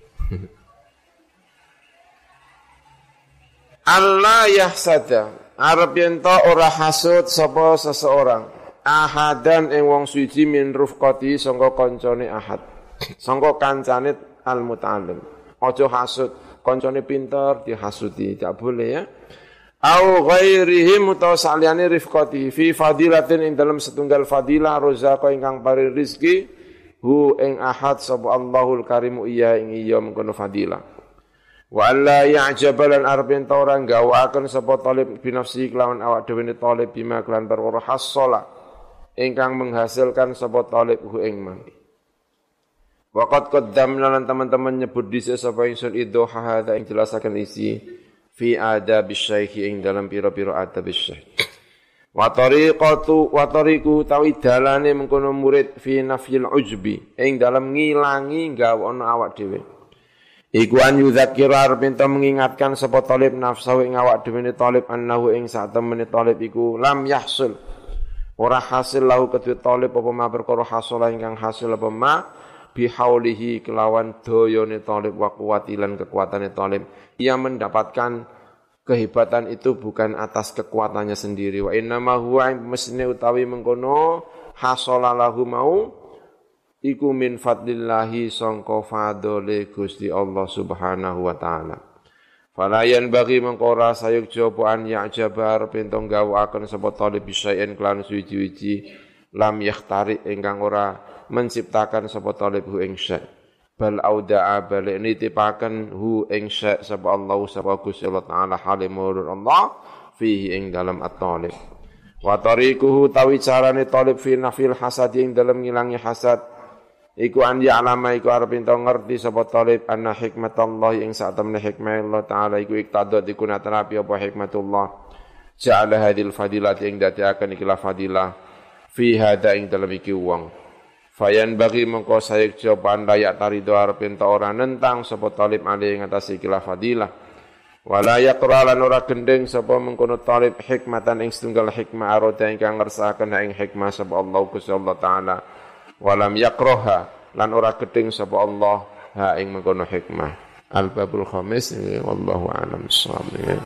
Speaker 1: Allah yahsada. Arab yen ta ora hasud sapa seseorang. Ahadan ing wong suci min rufqati sangka kancane ahad. Sangka kancane al-muta'allim. Aja hasud, kancane pinter dihasudi, tidak boleh ya. Au ghairihim utawa saliyane rifqati fi fadilatin ing dalam setunggal fadilah rozaqo ingkang paring rezeki hu ing ahad sapa Allahul Karimu iya ing iya mengkono fadilah wa alla ya'jabalan arbin tauran gawaken sapa talib binafsi kelawan awak dhewe ne talib bima kelan perkara hasala ingkang menghasilkan sapa talib hu ing man waqad qaddamna lan teman-teman nyebut dhisik sapa ingsun idhoha hadza ing jelasaken isi fi adab syekh ing dalam pira-pira adab syekh wa tariqatu wa tariqu tawi dalane mengkono murid fi nafyil ujbi ing dalam ngilangi gawono awak dhewe iku an yudzakira arep mengingatkan sapa talib nafsu ing awak dhewe ne talib annahu ing sak temene talib iku lam yahsul ora hasil lahu kedue talib apa ma perkara hasil ingkang hasil apa ma bihaulihi kelawan doyone talib wa kuwatilan kekuatannya talib ia mendapatkan kehebatan itu bukan atas kekuatannya sendiri wa innama huwa mesne utawi mengkono hasalalahu mau iku min fadlillahi sangka fadhole Gusti Allah Subhanahu wa taala falayan bagi mengkora sayuk jopoan ya jabar pentong gawaken sapa talib bisaen kelan suci-suci lam yakhtari ingkang ora menciptakan sapa talib hu ing syai bal auda'a balik nitipaken hu ing syai' sapa Allah sapa Gusti Allah taala halimur Allah fihi ing dalam at-talib wa tariquhu tawi carane talib fi nafil hasad ing dalam ngilangi hasad iku an ya'lama iku arep ento ngerti sapa talib anna hikmatallahi ing sak temne hikmah Allah taala iku iktadot iku naterapi apa hikmatullah ja'ala hadhil fadilah ing dadiaken iki la fadilah fi hada ing dalam iki wong fayan bagi mengko sayek jawaban layak tarido arepin ta ora nentang sapa talib ali ing atas ikilah fadilah wala yaqra lan ora gendeng sapa mengkono talib hikmatan ing setunggal hikmah arada ingkang ngersakaken ing hikmah sapa Allah Gusti Allah taala walam yaqraha lan ora gedeng sapa Allah ha ing mengkono hikmah al babul khamis wallahu a'lam bissawab.